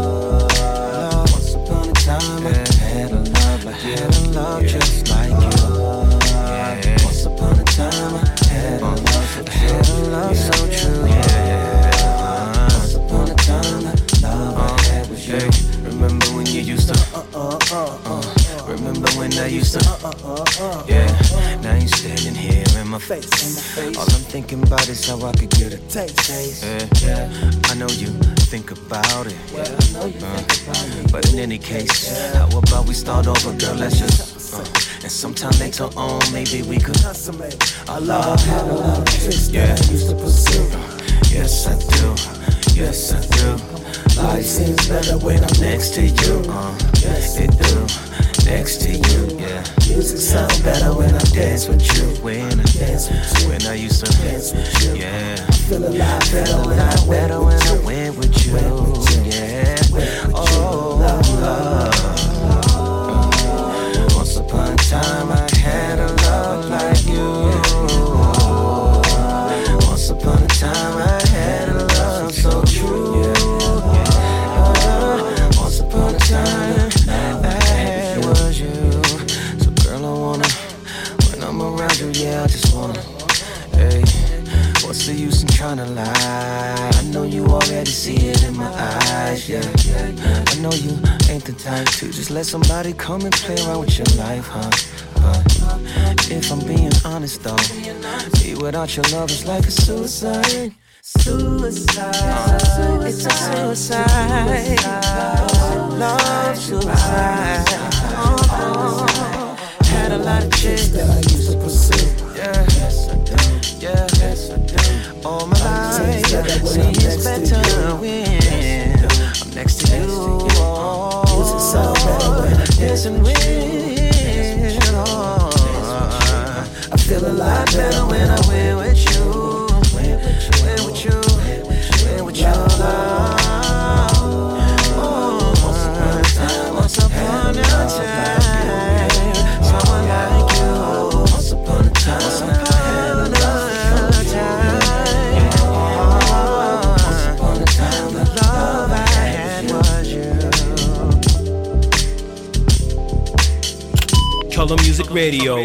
love. Once upon a time I had a love, I had a love just like you. Once upon a time I had a love, I had a love so true. Once upon a time the love I had was you. Remember when you used to uh uh uh uh. Remember when I used to uh uh uh. Yeah. Now you standing here in my face. All I'm thinking about is how I could get a taste. Yeah, yeah. I know you think about it. Yeah, I know you think about it. But in any case, how about we start over, girl? Let's just uh, and sometime later on, maybe we could consummate our love. Had a lot of tricks that I used to pursue. Yes, I do. Yes, I do. Life seems better when I'm next to you. Uh, yes, it do. Next to you, yeah. Music sound better when I dance with you. When I dance with you. When I used to dance with you. Yeah. I feel a lot better when I better when I went with you. Yeah. Oh, love. Once upon a time I had a love like you. Once upon a time I had a love so true. Once upon a time yeah, I just wanna, hey, what's the use in trying to lie? I know you already see it in my eyes, yeah. I know you ain't the type to just let somebody come and play around with your life, huh? But if I'm being honest though, be without your love is like a suicide. Suicide, uh, it's a suicide, love suicide. Oh, had a lot of chicks that I used to pursue. Yeah, yes I do. Yeah, yes I do. All my life, see it's better when I'm next to you. Oh, music sound better when I'm dancing with. Oh, I feel a lot better when I went with you. Went with you, went with your love. Oh, once upon a time. Someone like you. Once upon a time, once upon a time, once upon a time, Radio.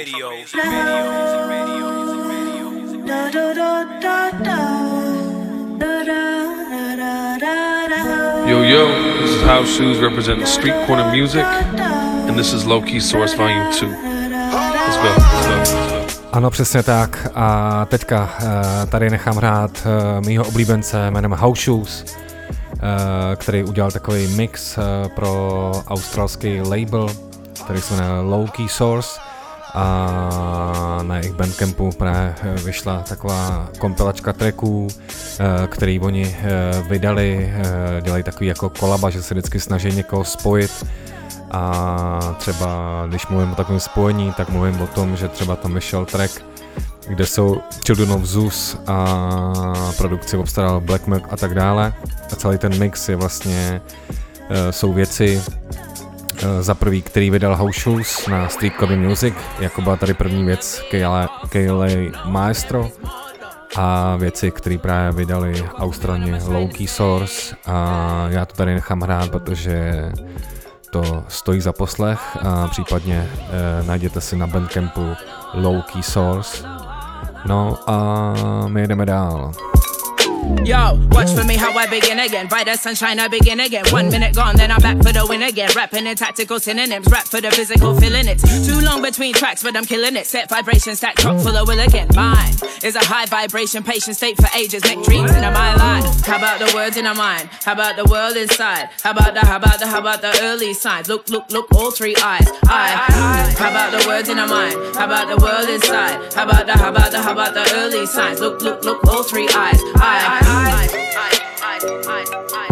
Yo, yo, this is House Shoes representing Street Corner Music, and this is Low Key Source Volume two. Let's go, let's go, let's go. Ano, přesně tak. A teďka tady nechám hrát mýho oblíbence jménem House Shoes, který udělal takový mix pro australský label, který se jmenuje Low Key Source. A na jejich Bandcampu právě vyšla taková kompilačka tracků, který oni vydali, dělají takový jako kolaba, že se vždycky snaží někoho spojit. A třeba když mluvím o takovém spojení, tak mluvím o tom, že třeba tam vyšel track, kde jsou Children of Zeus a produkci obstaral Black Milk a tak dále. A celý ten mix je vlastně, jsou věci, za prvý, který vydal House Shoes na Street Club Music, jako byla tady první věc K L A Maestro, a věci, které právě vydali Australaně Low Key Source, a já to tady nechám hrát, protože to stojí za poslech, a případně eh, najděte si na Bandcampu Low Key Source. No a my jedeme dál. Yo, watch for me how I begin again. Brighter sunshine, I begin again. One minute gone, then I'm back for the win again. Rapping in tactical synonyms, rap for the physical feeling. It's too long between tracks, but I'm killing it. Set vibration, stack chock full of will again. Mine is a high vibration, patient state for ages. Make dreams into my life. How about the words in our mind? How about the world inside? How about the, how about the, how about the early signs? Look, look, look, all three eyes. I, I. How about the words in our mind? How about the world inside? How about the, how about the, how about the early signs? Look, look, look, all three eyes. I. I, I, I, I, I,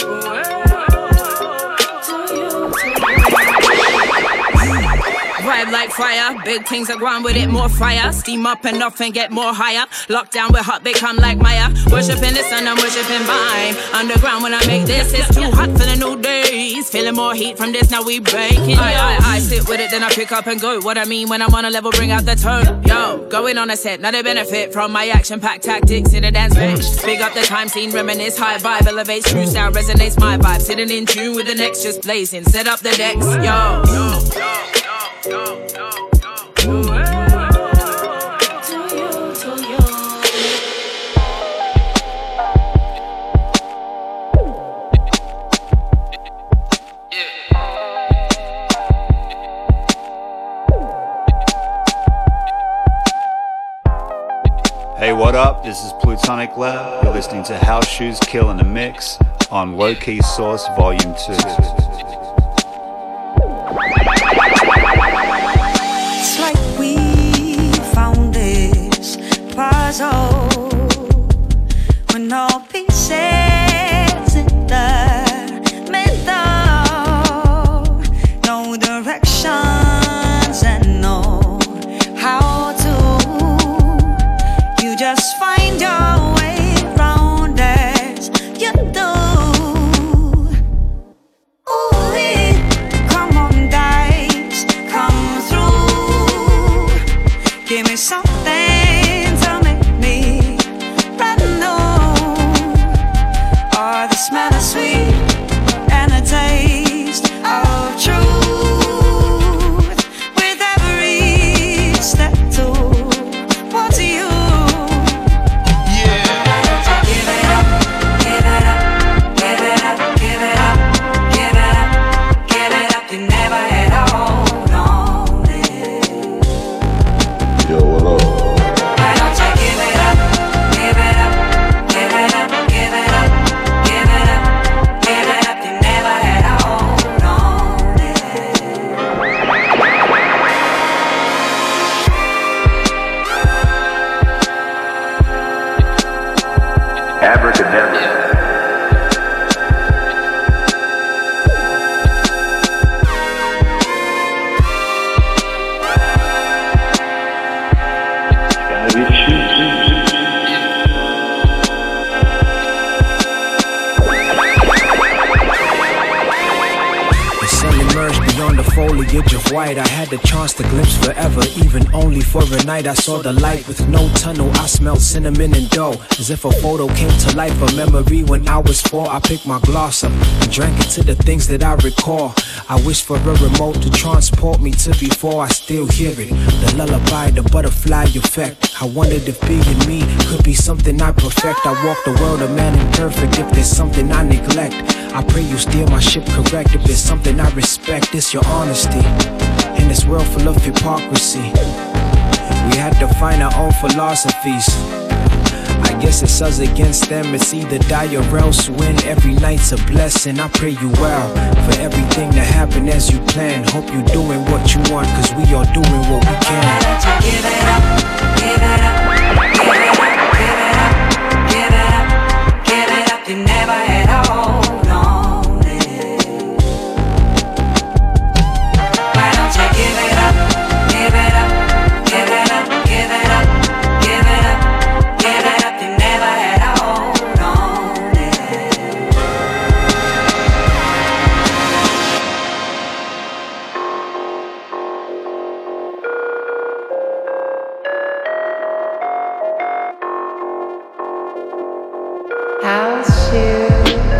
Vibe like fire, big things are going with it, more fire. Steam up and off and get more higher. Lockdown with hot, become like Maya. Worshipping the sun, I'm worshipping mine. Underground when I make this, it's too hot for the new days. Feeling more heat from this, now we breaking. I, I, I sit with it, then I pick up and go. What I mean when I'm on a level, bring out the tone. Yo, going on a set, now they benefit from my action-packed tactics in a dance bench. Big up the time scene, reminisce, high vibe, elevates, true sound, resonates my vibe. Sitting in tune with the next, just blazing. Set up the decks, yo. yo, yo, yo. Go, go, go, go. To you, to you. Hey, what up? This is Plutonic Lab. You're listening to House Shoes Kill in the Mix on Low Key Source Volume two. Puzzle when all pieces in the middle, no directions and no how to. You just find your way round as you do. Ooh, come on, dice, come through. Give me something. Smell of sweet and a taste of truth with every step towards you. Yeah. Give it up, give it up, give it up, give it up, give it up, give it up. You never had a hold on it. Yo, what up? Why don't you give it up, give it up, give it up, give it up. Abracadabra. foliage of white. I had the chance to glimpse forever, even only for a night. I saw the light with no tunnel. I smelled cinnamon and dough, as if a photo came to life. A memory when I was four. I picked my gloss up and drank into the things that I recall. I wish for a remote to transport me to before I still hear it. The lullaby, the butterfly effect. I wondered if being me could be something I perfect. I walk the world a man imperfect. If there's something I neglect, I pray you steer my ship correct. If there's something I respect, it's your honesty. In this world full of hypocrisy, we had to find our own philosophies. I guess it's us against them. It's either die or else win. Every night's a blessing. I pray you well for everything to happen as you plan. Hope you doing what you want, cause we all doing what we can. Give it up, give it up, give it up, give it up, give it up, give it up. You never had a hold on it. Why don't you give it up, give it up, give it up, give it up, give it up, give it up. You never had a hold on it. House shoes.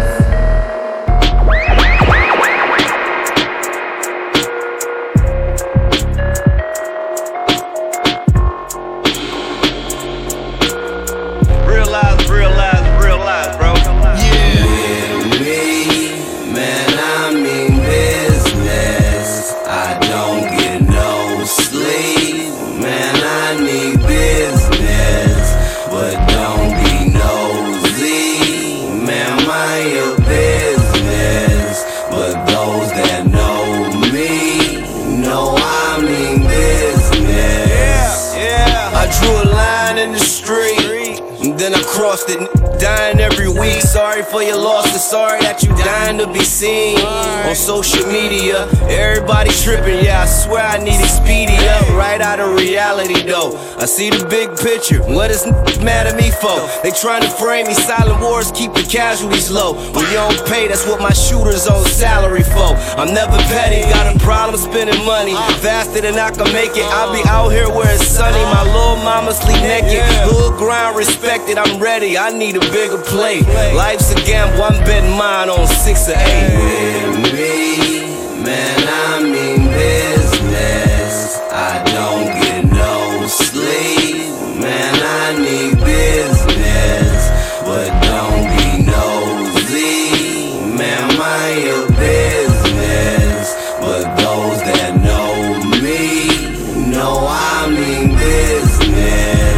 Realize, realize, realize, bro. With me, man, I mean business. I don't get no sleep, man, I need business. But don't be nosy, man, mind your business. But those that know me, know I mean business. Yeah, I drew a line in the street, and then I crossed it. Dying every week, sorry for your loss, and sorry that you dying to be seen on social media. Everybody tripping, yeah, I swear I need Expedia. Right out of reality though, I see the big picture. What is mad at me for? They trying to frame me, silent wars keep the casualties low. When you don't pay, that's what my shooters on salary for. I'm never petty, got a problem spending money faster than I can make it. I'll be out here where it's sunny, my little mama sleep naked. Hood grind respected, I'm ready, I need a bigger play. Life's a gamble, I'm betting mine on six or eight. With me, man, I mean business. I don't get no sleep, man, I need business. But don't be nosy, man, mind your business. But those that know me, know I mean business.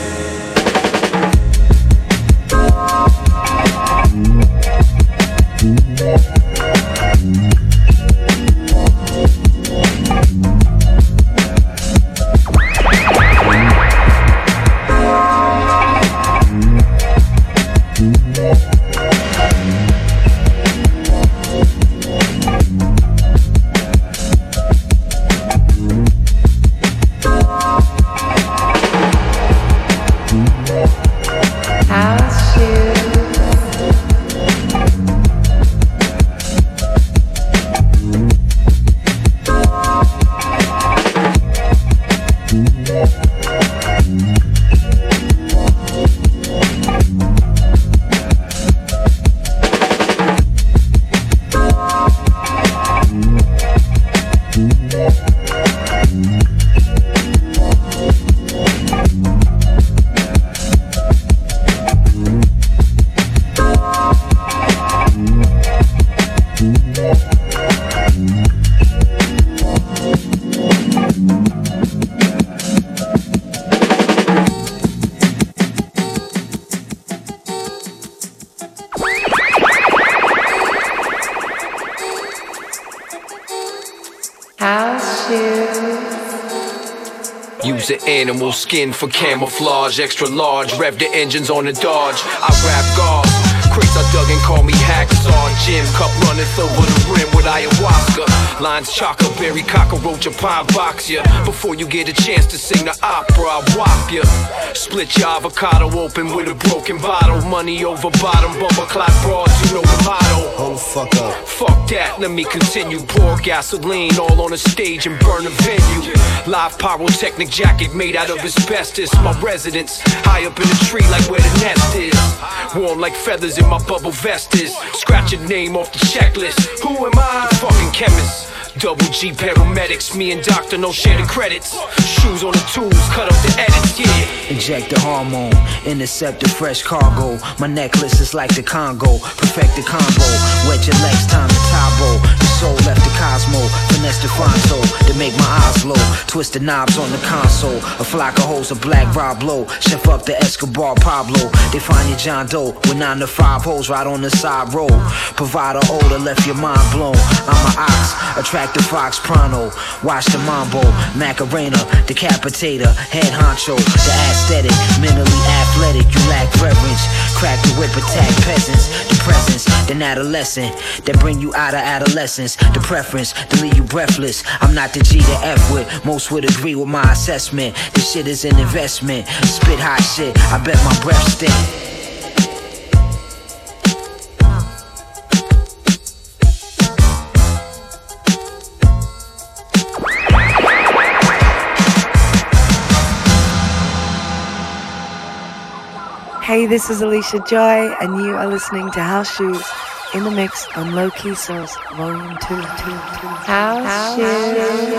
Use an animal skin for camouflage. Extra large, rev the engines on the Dodge. I rap guards, crates I dug and call me Hacksaw. Gin cup runneth over the rim with ayahuasca. Lines chocker, berry, cockroach, a pine box ya. Before you get a chance to sing the opera, I'll whop ya. Split your avocado open with a broken bottle. Money over bottom, bumper clock broads, you know the motto. the fuck up. Fuck that, let me continue. Pour gasoline all on the stage and burn the venue. Live pyrotechnic jacket made out of asbestos. My residence, high up in the tree like where the nest is. Warm like feathers in my bubble vest is. Scratch your name off the checklist. Who am I? Fucking chemist. Double G paramedics, me and Doctor no share the credits. Shoes on the tools, cut up the edits, yeah. Inject the hormone, intercept the fresh cargo. My necklace is like the Congo, perfect the combo. Wet your legs, time to Tabo. The soul left the Cosmo, finesse the Fonto to make my eyes low. Twist the knobs on the console. A flock of hoes, a black Rob Low. Chef up the Escobar Pablo. They find your John Doe with nine to five hoes right on the side road. Provide a odor, left your mind blown. I'm an ox, attract the fox pronto. Watch the mambo, Macarena, decapitator, head honcho, the aesthetic, mentally athletic. You lack reverence. Crack the whip, attack peasants. The presence, then adolescent, that bring you out of adolescence. The preference, to leave you breathless. I'm not the G to F with. Most would agree with my assessment. This shit is an investment. Spit hot shit, I bet my breath stink. Hey, this is Alicia Joy, and you are listening to House Shoes in the mix on Low Key Source Volume two. House, House Shoes.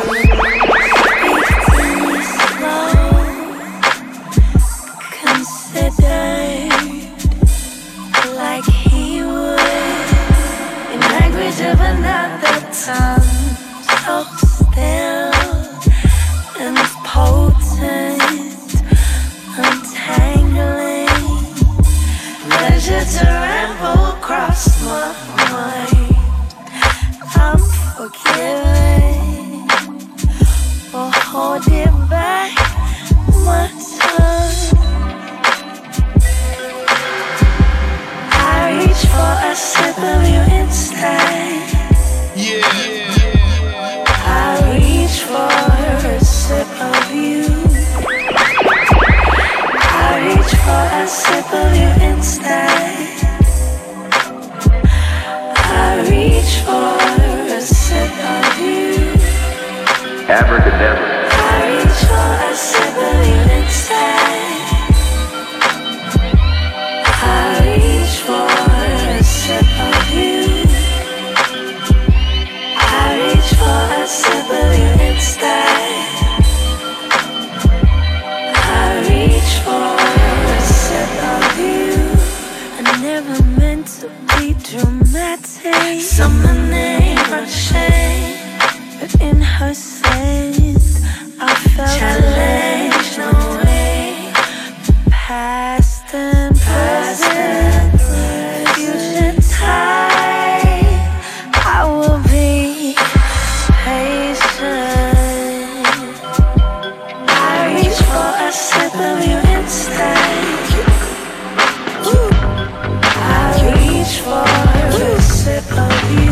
Considered like he would in language of another tongue, so still and potent, untangling. Pleasure to ramble across my mind. I'm forgiven for holding back my tongue. I reach for a sip of you instead. Yeah. I reach for a sip of you. I reach for a sip of you instead. I reach for a sip of you. Abracadabra. I reach for a sip of you instead. I reach for a sip of you. I reach for a sip of you instead. I reach for a sip of you. I never meant to be dramatic. Summoning her shame, but in her sense, I felt challenged. No way, past and present, future time. I will be patient. I reach for a sip of you instead. I reach for a sip of you.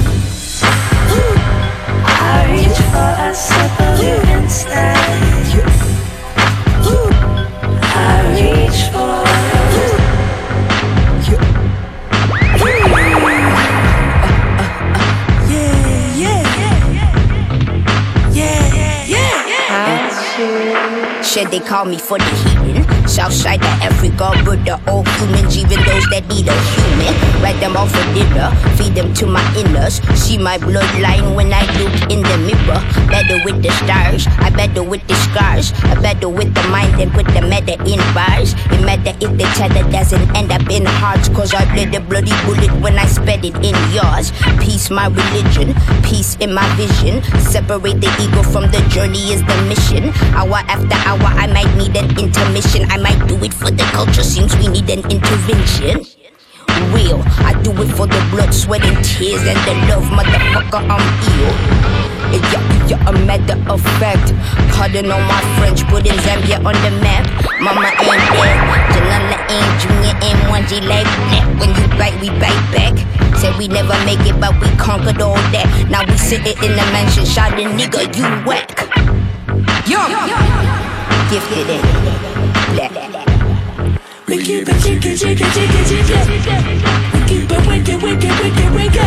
I reach for a sip of you instead. I reach for yeah, yeah, yeah, yeah. Shit, they call me for the heathen. Southside of Africa, but the old humans, even those that need a human. Write them off for dinner, feed them to my inners. See my bloodline when I look in the mirror. Better with the stars, I better with the scars. I better with the mind than put the meta in bars. It matter if the cheddar doesn't end up in hearts, cause I bled the bloody bullet when I sped it in yours. Peace my religion, peace in my vision. Separate the ego from the journey is the mission. Hour after hour I might need an intermission. I might do it for the culture, seems we need an intervention. Real, I do it for the blood, sweat and tears and the love, motherfucker, I'm ill. Yeah, yeah, a matter of fact. Pardon on my French, putting Zambia on the map. Mama ain't there, Janana ain't, Junior ain't one G like that. When you bite, we bite back. Said we never make it, but we conquered all that. Now we sitting in the mansion, shouting, nigga, you whack. Yo, gifted it. We keep it jiggy, jiggy, jiggy, jiggy. We keep it wicked, wicked, wicked, wicked.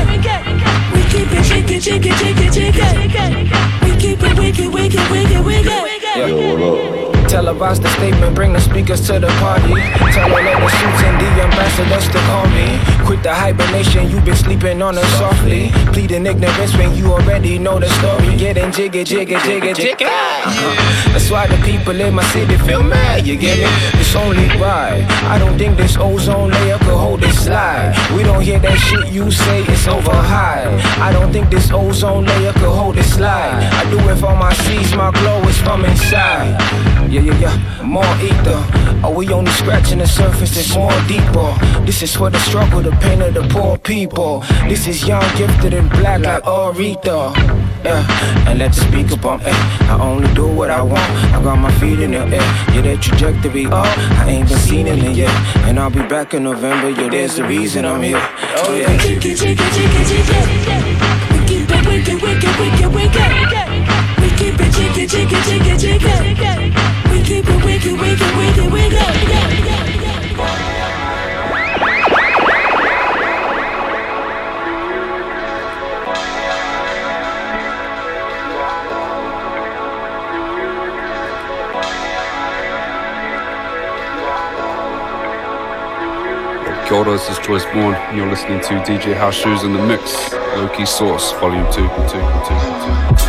televised the statement, bring the speakers to the party. Tell all of the suits and the ambassadors to call me. Quit the hibernation, you been sleeping on us softly. Pleading ignorance when you already know the story. Getting jiggy, jiggy, jiggy, jiggy. Uh-huh. That's why the people in my city feel mad, you get it? It's only right. I don't think this ozone layer could hold this slide. We don't hear that shit you say, it's over high. I don't think this ozone layer could hold this slide. I do it for my seeds, my glow is from inside. Yeah, yeah, yeah, more ether. Are we only scratching the surface? It's more deeper. This is for the struggle, the pain of the poor people. This is young, gifted, and black like Aretha. Yeah, and let the speaker bump. Eh. I only do what I want. I got my feet in the air. Yeah, that trajectory up. I ain't been seen in it yet. And I'll be back in November. Yeah, there's the reason I'm here. Oh yeah. Jiggy, jiggy, jiggy, jiggy. We keep it wicked, wicked, wicked, wicked. We keep it jiggy, jiggy, jiggy, jiggy. We keep it wicked, wicked, wicked, wicked. Kia ora, this is Joyce Bourne, and you're listening to D J House Shoes in the Mix, Low Key Source, Volume two, two, two, two.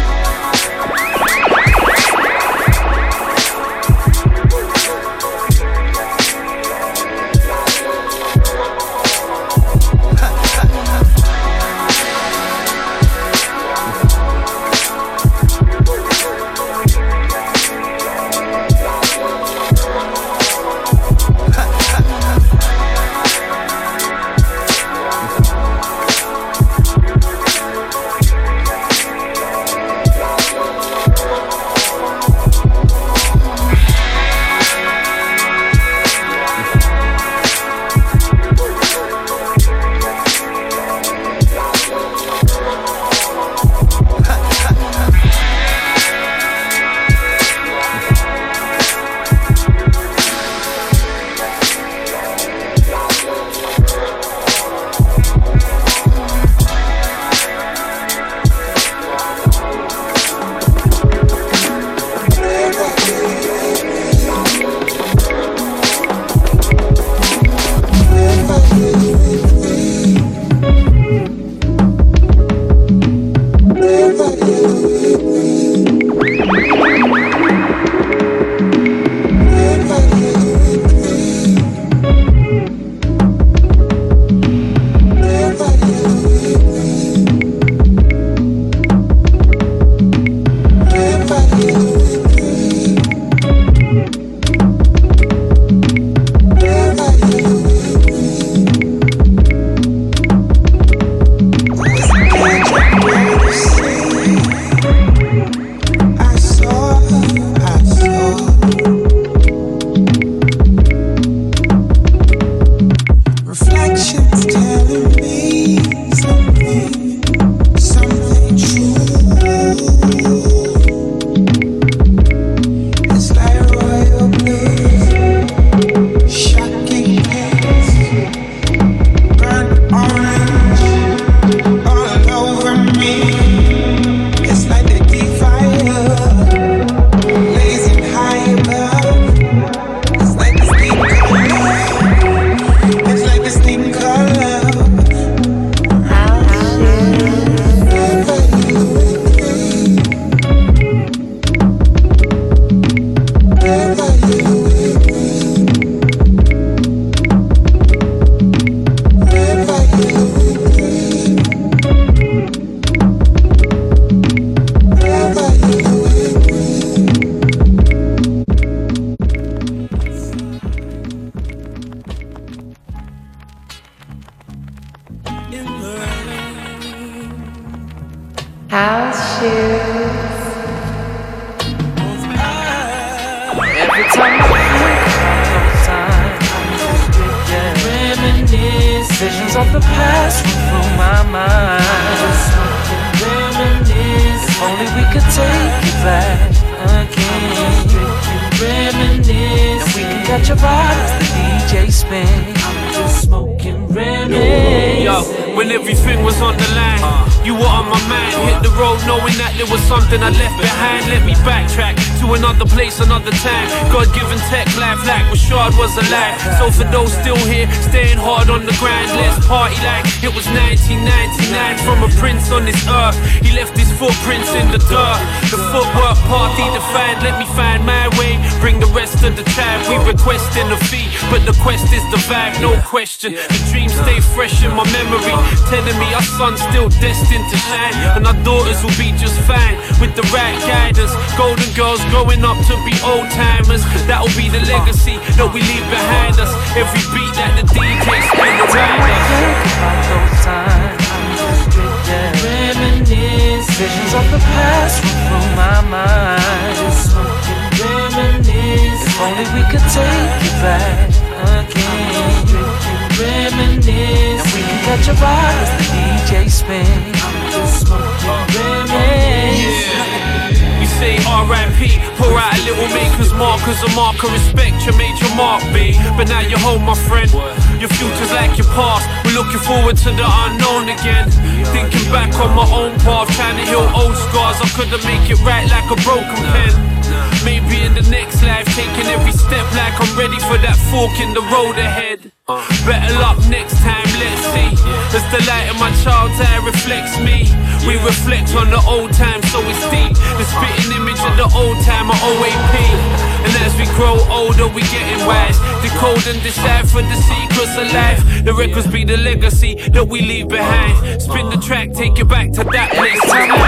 when everything was on the line. You were on my mind, hit the road knowing that there was something I left behind. Let me backtrack to another place, another time. God-given tech life like Rashad was alive. So for those still here, staying hard on the grind, let's party like it was nineteen ninety-nine. From a prince on this earth, he left his footprints in the dirt. The footwork party defined, let me find my way, bring the rest of the tribe. We requesting a fee, but the quest is the vibe, no question. The dreams stay fresh in my memory, telling me our son's still destined to shine, and our daughters will be just fine with the right guidance. Golden girls growing up to be old timers, that'll be the legacy that we leave behind us. Every beat that the D J spin around us. Those times, I'm just drifting, reminisce. Visions of the past run through my mind. Just smoking, reminisce. If only we could take it back again. Drinking, reminisce. And we can catch a ride as the D J spins. I'm just smoking, reminisce. We say R I P, pour out a little maker's mark as a mark of respect. You made your mark, B, but now you're home, my friend. Your future's like your past, we're looking forward to the unknown again. Thinking back on my own path, trying to heal old scars. I couldn't make it right like a broken pen. Maybe in the next life, taking every step like I'm ready for that fork in the road ahead. Better luck next time, let's see. As the light in my child's eye reflects me, we reflect on the old time, so it's deep. The spitting image of the old time of O A P. And as we grow older, we getting wise. Decode and decipher the secrets of life. The records be the legacy that we leave behind. Spin the track, take it back to that place.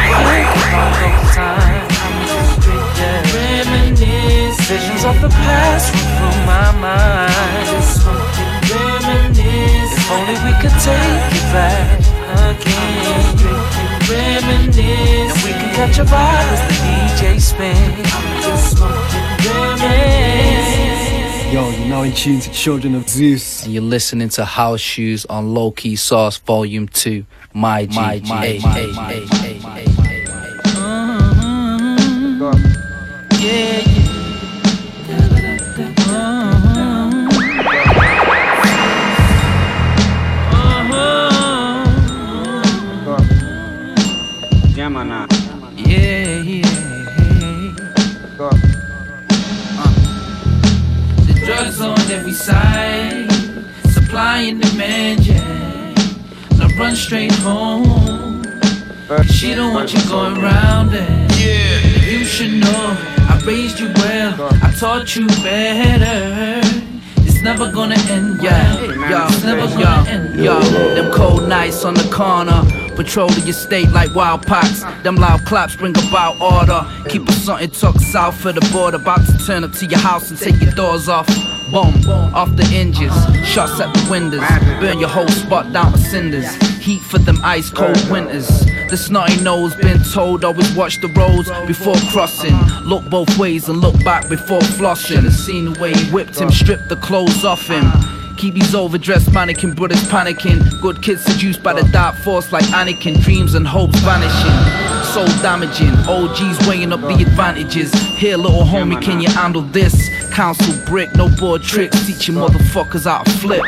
Reminisce. Visions of the past run through my mind. Just smoking, reminisce. If only we could take it back again. Drinking, reminisce. And we can catch a vibe as the D J spins. I'm just smoking, reminisce. Yo, you're now in tune to Children of Zeus. And you're listening to House Shoes on Low Key Sauce Volume two. My G, my G, my G, my G, my G, my G. Yeah, yeah. Yeah, yeah. Uh. The drugs on every side, supply and demand, yeah. Now run straight home. She don't want you going round it. Yeah. You should know I raised you well, I taught you better. It's never gonna end, yeah. Yo, it's never gonna end, yo. Them cold nights on the corner, patrol the estate like wild pox. Them loud claps bring about order. Keep us something tucked south of the border. About to turn up to your house and take your doors off. Boom, off the hinges, shots at the windows. Burn your whole spot down to cinders. Heat for them ice cold winters. The snotty nose been told always watch the roads before crossing. Look both ways and look back before flossing. Should've seen the way he whipped him, stripped the clothes off him. Keep these overdressed mannequin brothers panicking. Good kids seduced by the dark force like Anakin. Dreams and hopes vanishing, soul damaging. O Gs weighing up the advantages. Here little homie, can you handle this? Council brick, no board tricks. Teach you motherfuckers how to flip.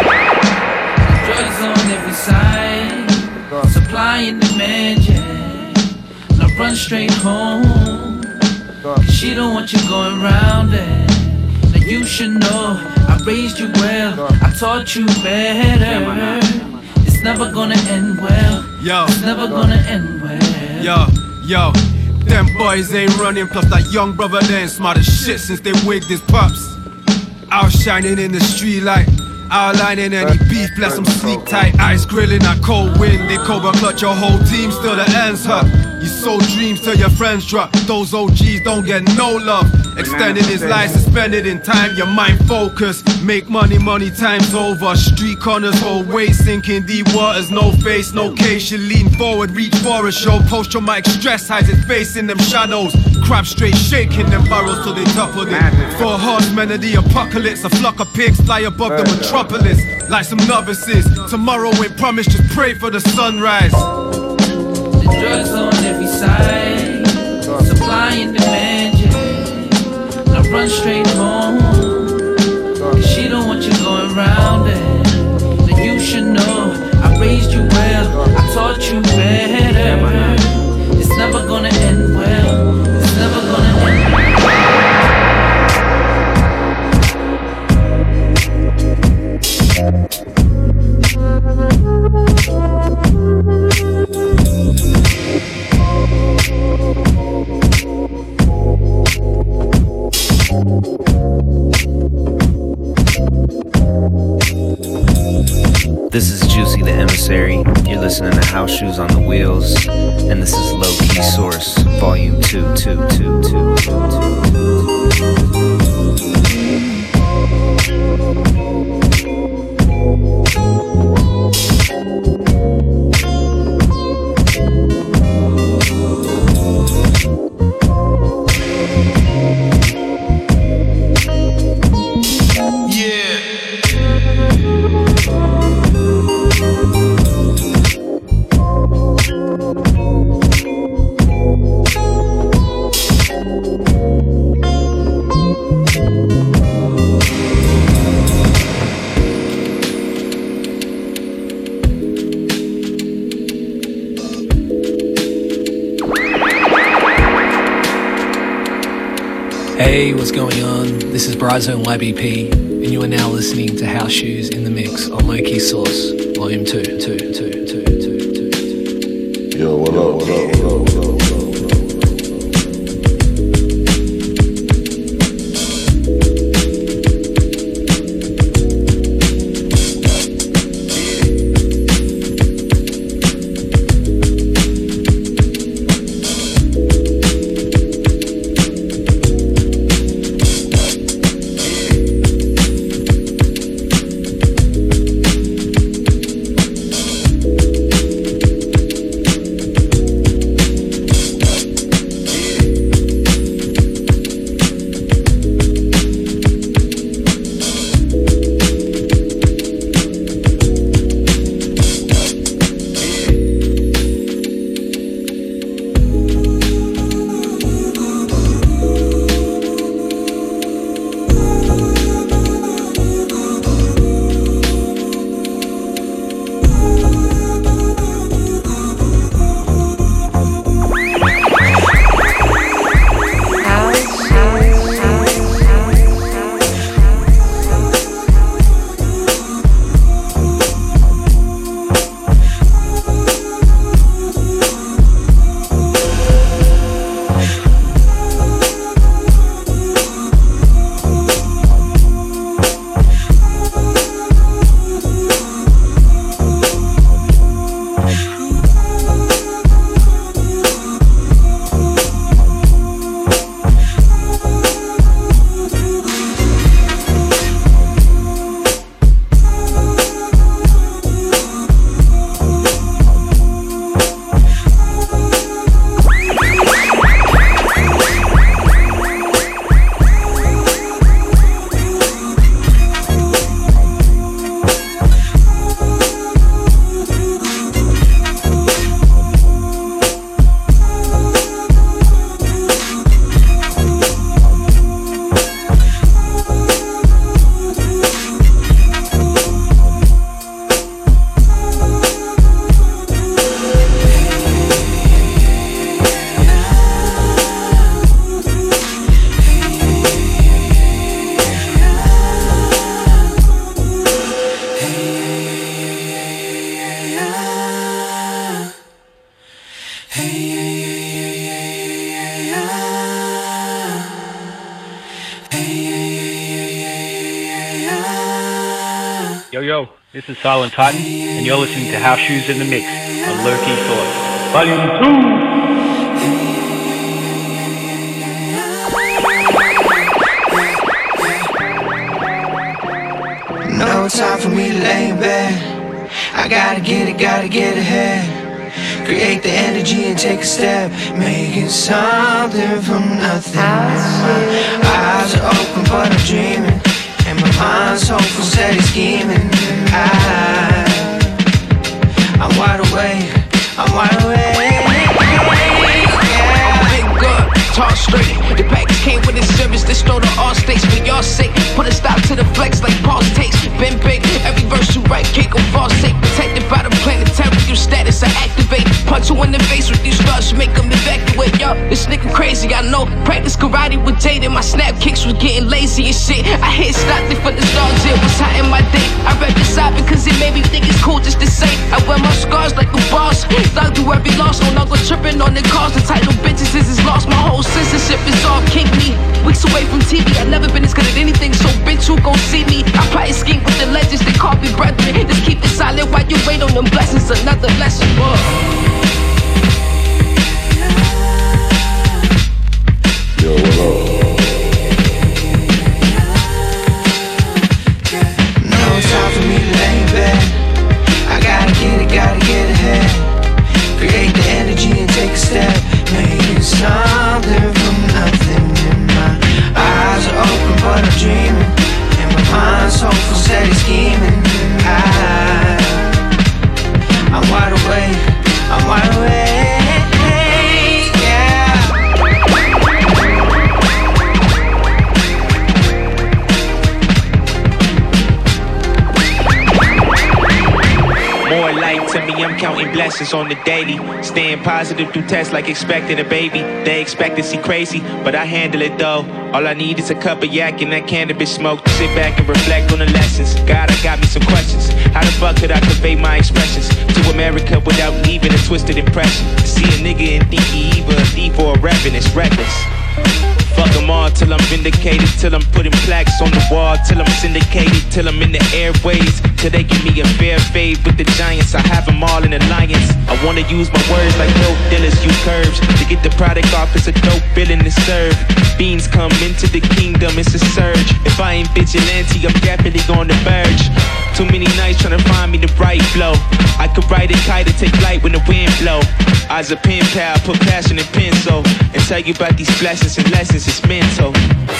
Drugs on every side, supply and demand, yeah. Now run straight home, cause she don't want you going round it. Now you should know I raised you well, I taught you better. It's never gonna end well. Yo, it's never gonna end well. Yo, yo, them boys ain't running, plus that young brother there ain't smart as shit since they wigged his pups. Outshining in the street light, outlining any beef, bless them sleek tight, ice grilling that cold wind. They cobra clutch your whole team, still the ends hurt. You sold dreams till your friends drop. Those O Gs don't get no love. Extended his life, suspended in time. Your mind focused, make money, money times over. Street corners, whole way sinking deep waters. No face, no case. You lean forward, reach for a show. Post your mic, stress hides his face in them shadows. Crab straight shaking them barrels till they toppled it. Four horsemen of the apocalypse. A flock of pigs fly above the metropolis like some novices. Tomorrow ain't promised, just pray for the sunrise. The drugs on every side, supply and demand, yeah. Now run straight home, cause she don't want you going round it. Now you should know I raised you well. This is Juicy the Emissary. You're listening to House Shoes on the Wheels, and this is Low Key Source, Volume two, two, two, two, two, Hey, what's going on? This is Bryzone Y B P, and you are now listening to House Shoes in the Mix on Low Key Source, Volume two, two, two, two, two, two, two. Yo, what up, what up, what up, what up? Yo, yo, this is Silent Titan, and you're listening to House Shoes in the Mix on Low Key Source, Volume two! No time for me to lay in bed. I gotta get it, gotta get ahead. Create the energy and take a step. Making something from nothing. My eyes are open but I'm dreaming, and my mind's hopeful, steady scheming. I, I'm wide awake, I'm wide awake. Yeah, big good, talk straight. The package came with a service that stole the all states. For your sake, put a stop to the flex like Paul's takes. Been big, every verse you write can't go false sake. Protected by the planetary status, I activate. Punch you in the face with these stars, make them evacuate. Yo, this nigga crazy, I know. Practice karate with Jade and my snap kicks was getting lazy and shit. I hit Stockton for the stars, it was hot in my day. I rap this side because it made me think it's cool just to say. I wear my scars like a boss. Thug through every loss, no longer tripping on the cars. The title bitches is lost, my whole censorship is all kink me. Weeks away from T V, I never been as good at anything, so bitch, who gon' see me? I plot and scheme with the legends, they call me brethren. Just keep it silent wait on them blessings, another lesson. Whoa. Yo, what up? No time for me to lay back. I gotta get it, gotta get ahead. Create the energy and take a step. Making something from nothing. And my eyes are open but I'm dreaming. And my mind's hopeful, steady scheming. I, I'm wide awake, I'm wide awake. More light to me, I'm counting blessings on the daily. Staying positive through tests like expecting a baby. They expect to see crazy, but I handle it though. All I need is a cup of yak and that cannabis smoke to sit back and reflect on the lessons. God, I got me some questions. How the fuck could I convey my expressions to America without leaving a twisted impression? See a nigga and think he either a thief or a reverend, it's reckless. Fuck them all till I'm vindicated, till I'm putting plaques on the wall, till I'm syndicated, till I'm in the airways, till they give me a fair fade with the giants. I have them all in alliance. I wanna use my words like dope dealers use curves to get the product off. It's a dope feeling to serve. Beans come into the kingdom, it's a surge. If I ain't vigilante, I'm definitely on the verge. Too many nights trying to find me the right flow. I could ride a kite and take flight when the wind blow. I was a pen pal, put passion in pencil, and tell you about these blessings and lessons. It's mental.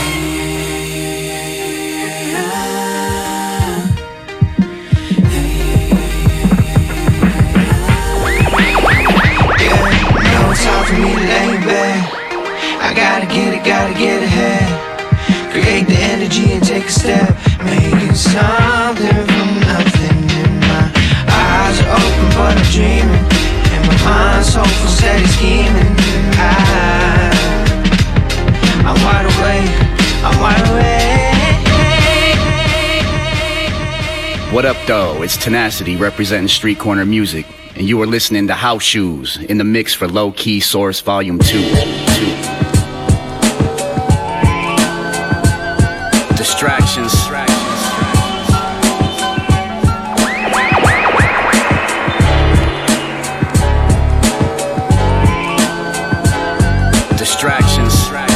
Time for me to lay back. I gotta get it, gotta get ahead. Create the energy and take a step. Making something from nothing. And my eyes are open but I'm dreaming. And my mind's hopeful, steady scheming. I, I'm wide awake, I'm wide awake. What up though, it's Tenacity representing Street Corner Music. And you are listening to House Shoes in the mix for Low Key Source Volume two. two. Distractions. Distractions.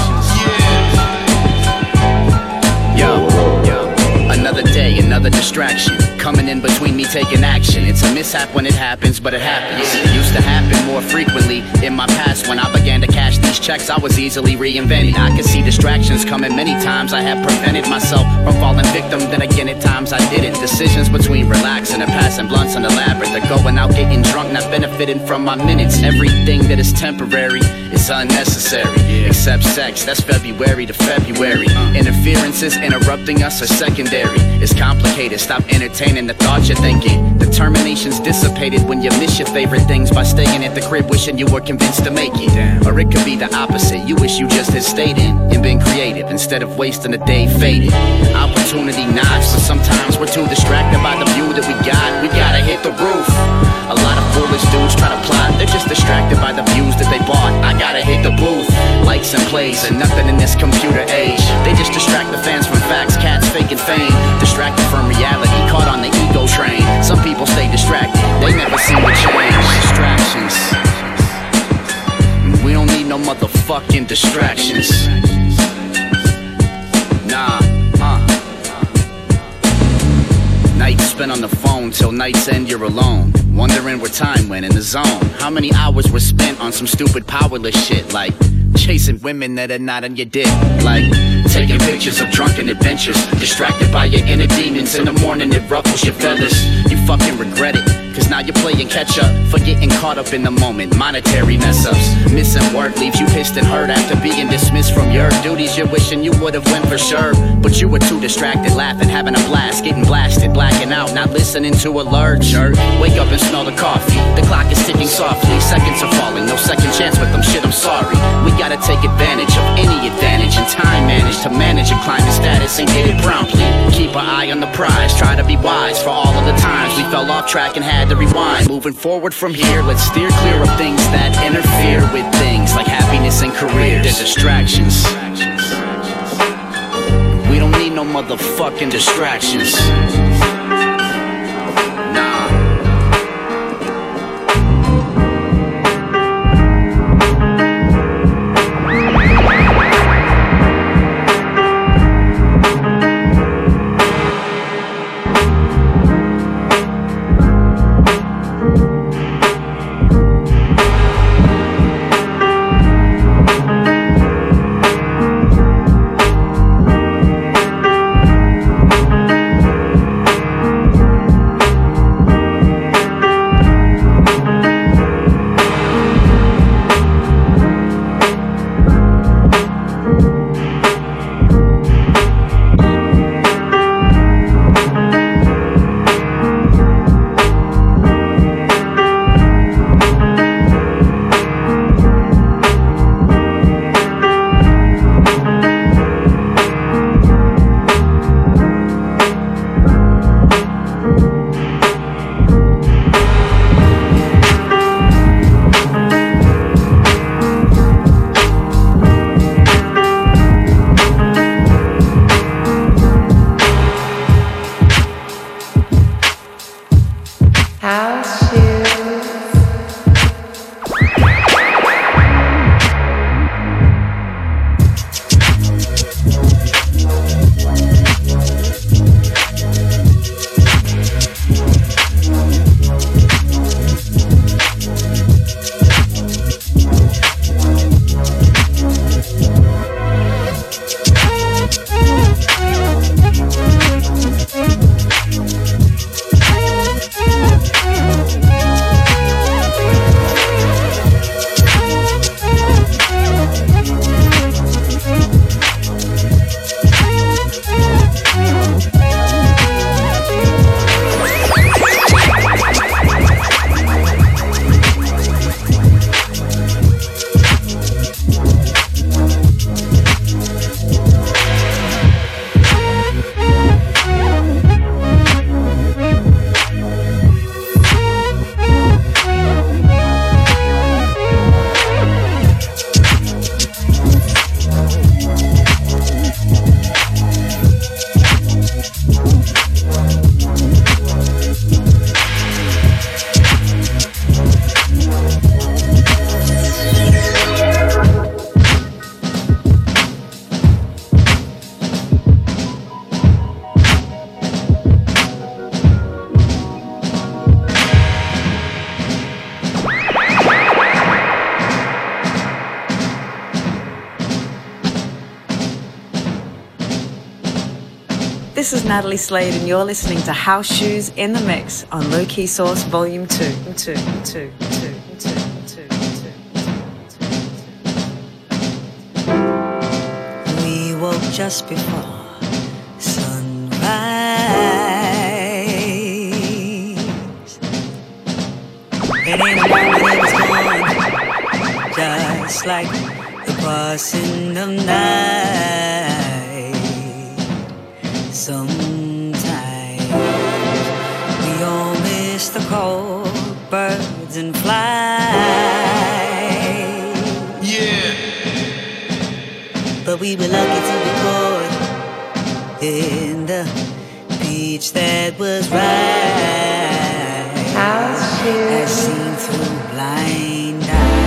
Yo, yo, another day, another distraction. Coming in between me taking action. It's a mishap when it happens, but it happens. It used to happen more frequently in my past. When I began to cash these checks, I was easily reinvented. I could see distractions coming many times. I have prevented myself from falling victim. Then again, at times I didn't. Decisions between relaxing and passing blunts on the labyrinth, or going out getting drunk, not benefiting from my minutes. Everything that is temporary is unnecessary. Except sex, that's February to February. Interferences interrupting us are secondary. It's complicated, stop entertaining the thoughts you're thinking. Determination's dissipated when you miss your favorite things by staying at the crib wishing you were convinced to make it. Or it could be the opposite, you wish you just had stayed in and been creative instead of wasting a day faded. Opportunity knocks, but sometimes we're too distracted by the view that we got. We gotta hit the roof. A lot of foolish dudes try to plot, they're just distracted by the views that they bought. I gotta hit the booth. Likes and plays and nothing in this computer age. They just distract the fans from facts, cats faking fame. Distracted from reality, caught on the ego train. Some people stay distracted, they never seem to change. Distractions. We don't need no motherfucking distractions. Nah, uh. Nights spent on the phone till night's end you're alone. Wondering where time went in the zone. How many hours were spent on some stupid powerless shit, like chasing women that are not on your dick, like taking pictures of drunken adventures. Distracted by your inner demons, in the morning it ruffles your feathers. You fucking regret it, cause now you're playing catch up, forgetting caught up in the moment. Monetary mess ups, missing work leaves you pissed and hurt after being dismissed from your duties. You're wishing you would've went for sure, but you were too distracted, laughing, having a blast, getting blasted, blacking out, not listening to alert. Jerk, wake up and smell the coffee. The clock is ticking softly, seconds are falling, no second chance with them. Shit, I'm sorry. We gotta take advantage of any advantage and time manage to manage and climb the status and get it promptly. Keep our eye on the prize, try to be wise for all of the times we fell off track and had to rewind. Moving forward from here, let's steer clear of things that interfere with things like happiness and careers. They're distractions. We don't need no motherfucking distractions. Nah. House shoes. This is Natalie Slade, and you're listening to House Shoes in the Mix on Low Key Source Volume two. two, two, two, two, two, two. We woke just before sunrise, and in a moment it was gone, just like the passing of night. Sometimes we all miss the cold birds and flies. Yeah. But we were lucky to be born in the beach that was right, as seen through blind eyes.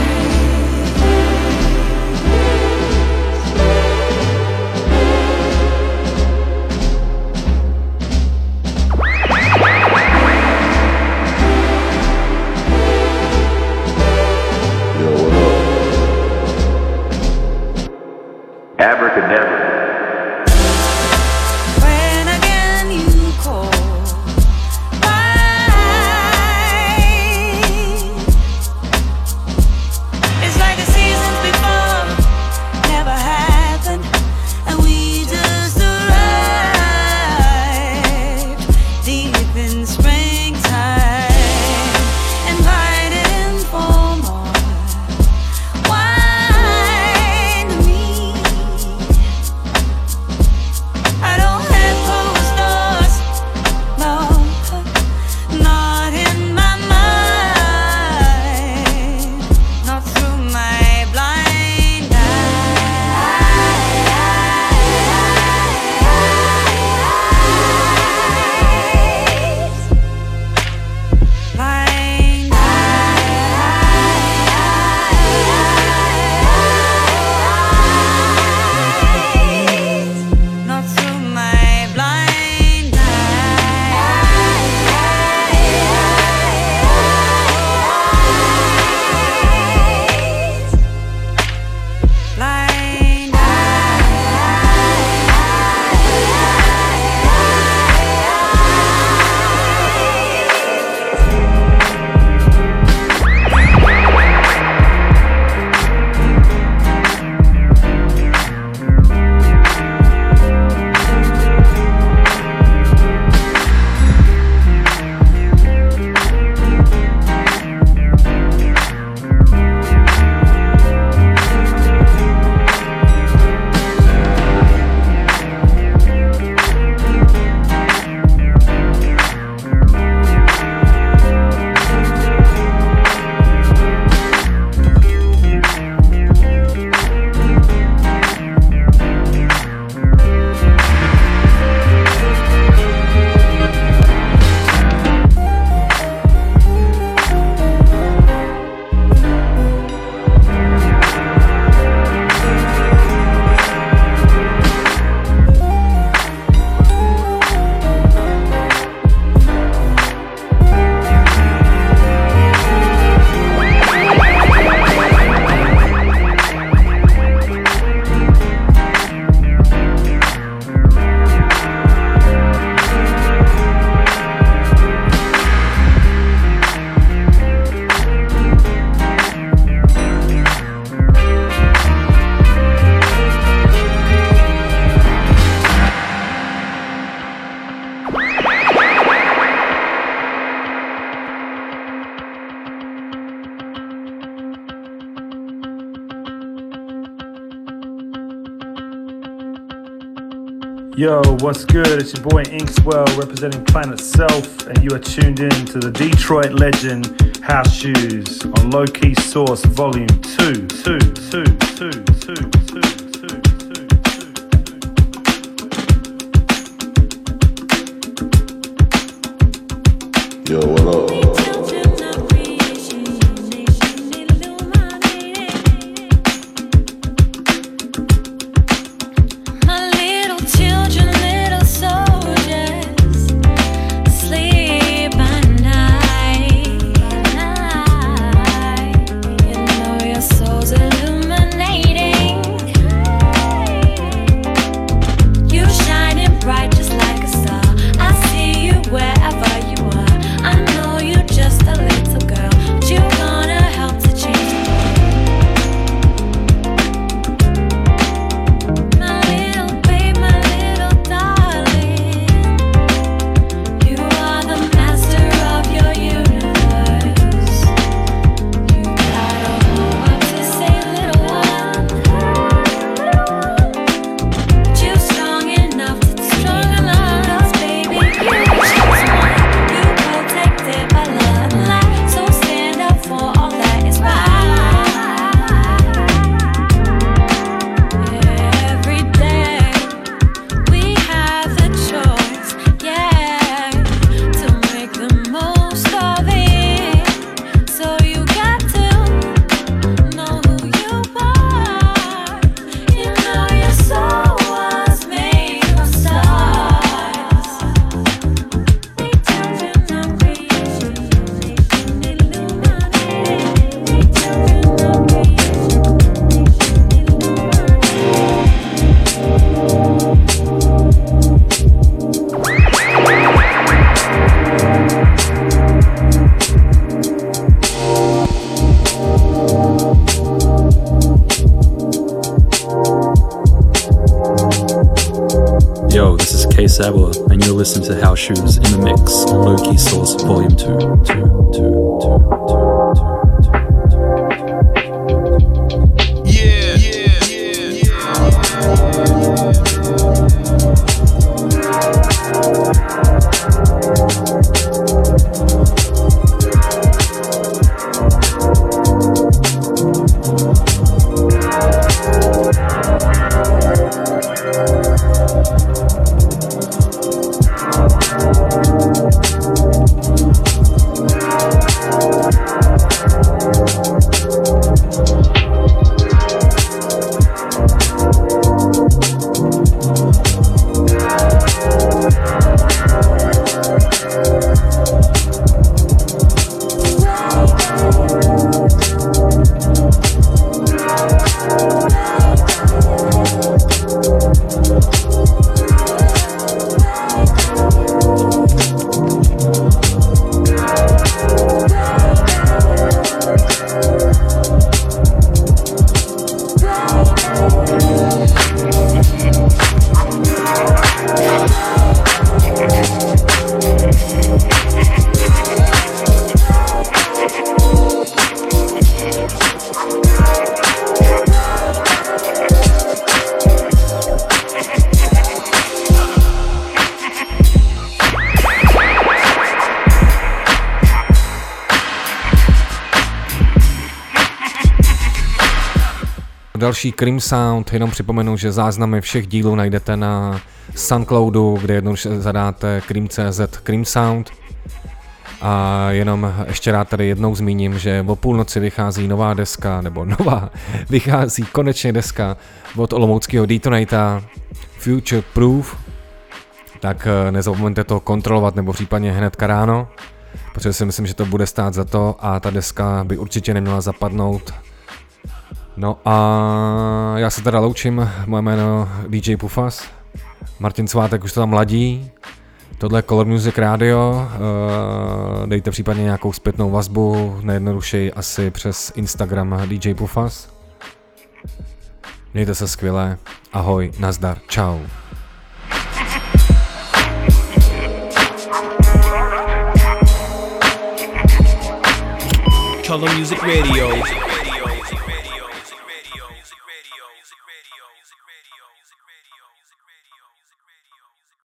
Abracadabra. When again you call my Yo, what's good? It's your boy Inkswell representing Planet Self, and you are tuned in to the Detroit legend House Shoes on Low Key Source Volume two, two, two, two, two, two, two. Yo, what up? Sabwa, and you're listening to House Shoes in the Mix on Low Key Source Volume two. two, two, two, two, two, two. Yeah, yeah, yeah, yeah. Další Cream Sound, jenom připomenu, že záznamy všech dílů najdete na Soundcloudu, kde jednoduše zadáte cream tečka cé zet Cream Sound. A jenom ještě rád tady jednou zmíním, že o půlnoci vychází nová deska, nebo nová, vychází konečně deska od olomouckého Detonata Future Proof. Tak nezapomeňte to kontrolovat, nebo případně hnedka ráno, protože si myslím, že to bude stát za to a ta deska by určitě neměla zapadnout. No a já se teda loučím, moje jméno dý džej Pufas, Martin Svátek už to tam ladí, tohle je Color Music Radio, dejte případně nějakou zpětnou vazbu, nejjednodušeji asi přes Instagram dý džej Pufas. Mějte se skvěle, ahoj, nazdar, čau. Color Music Radio. music radio, music radio, music radio, music radio, music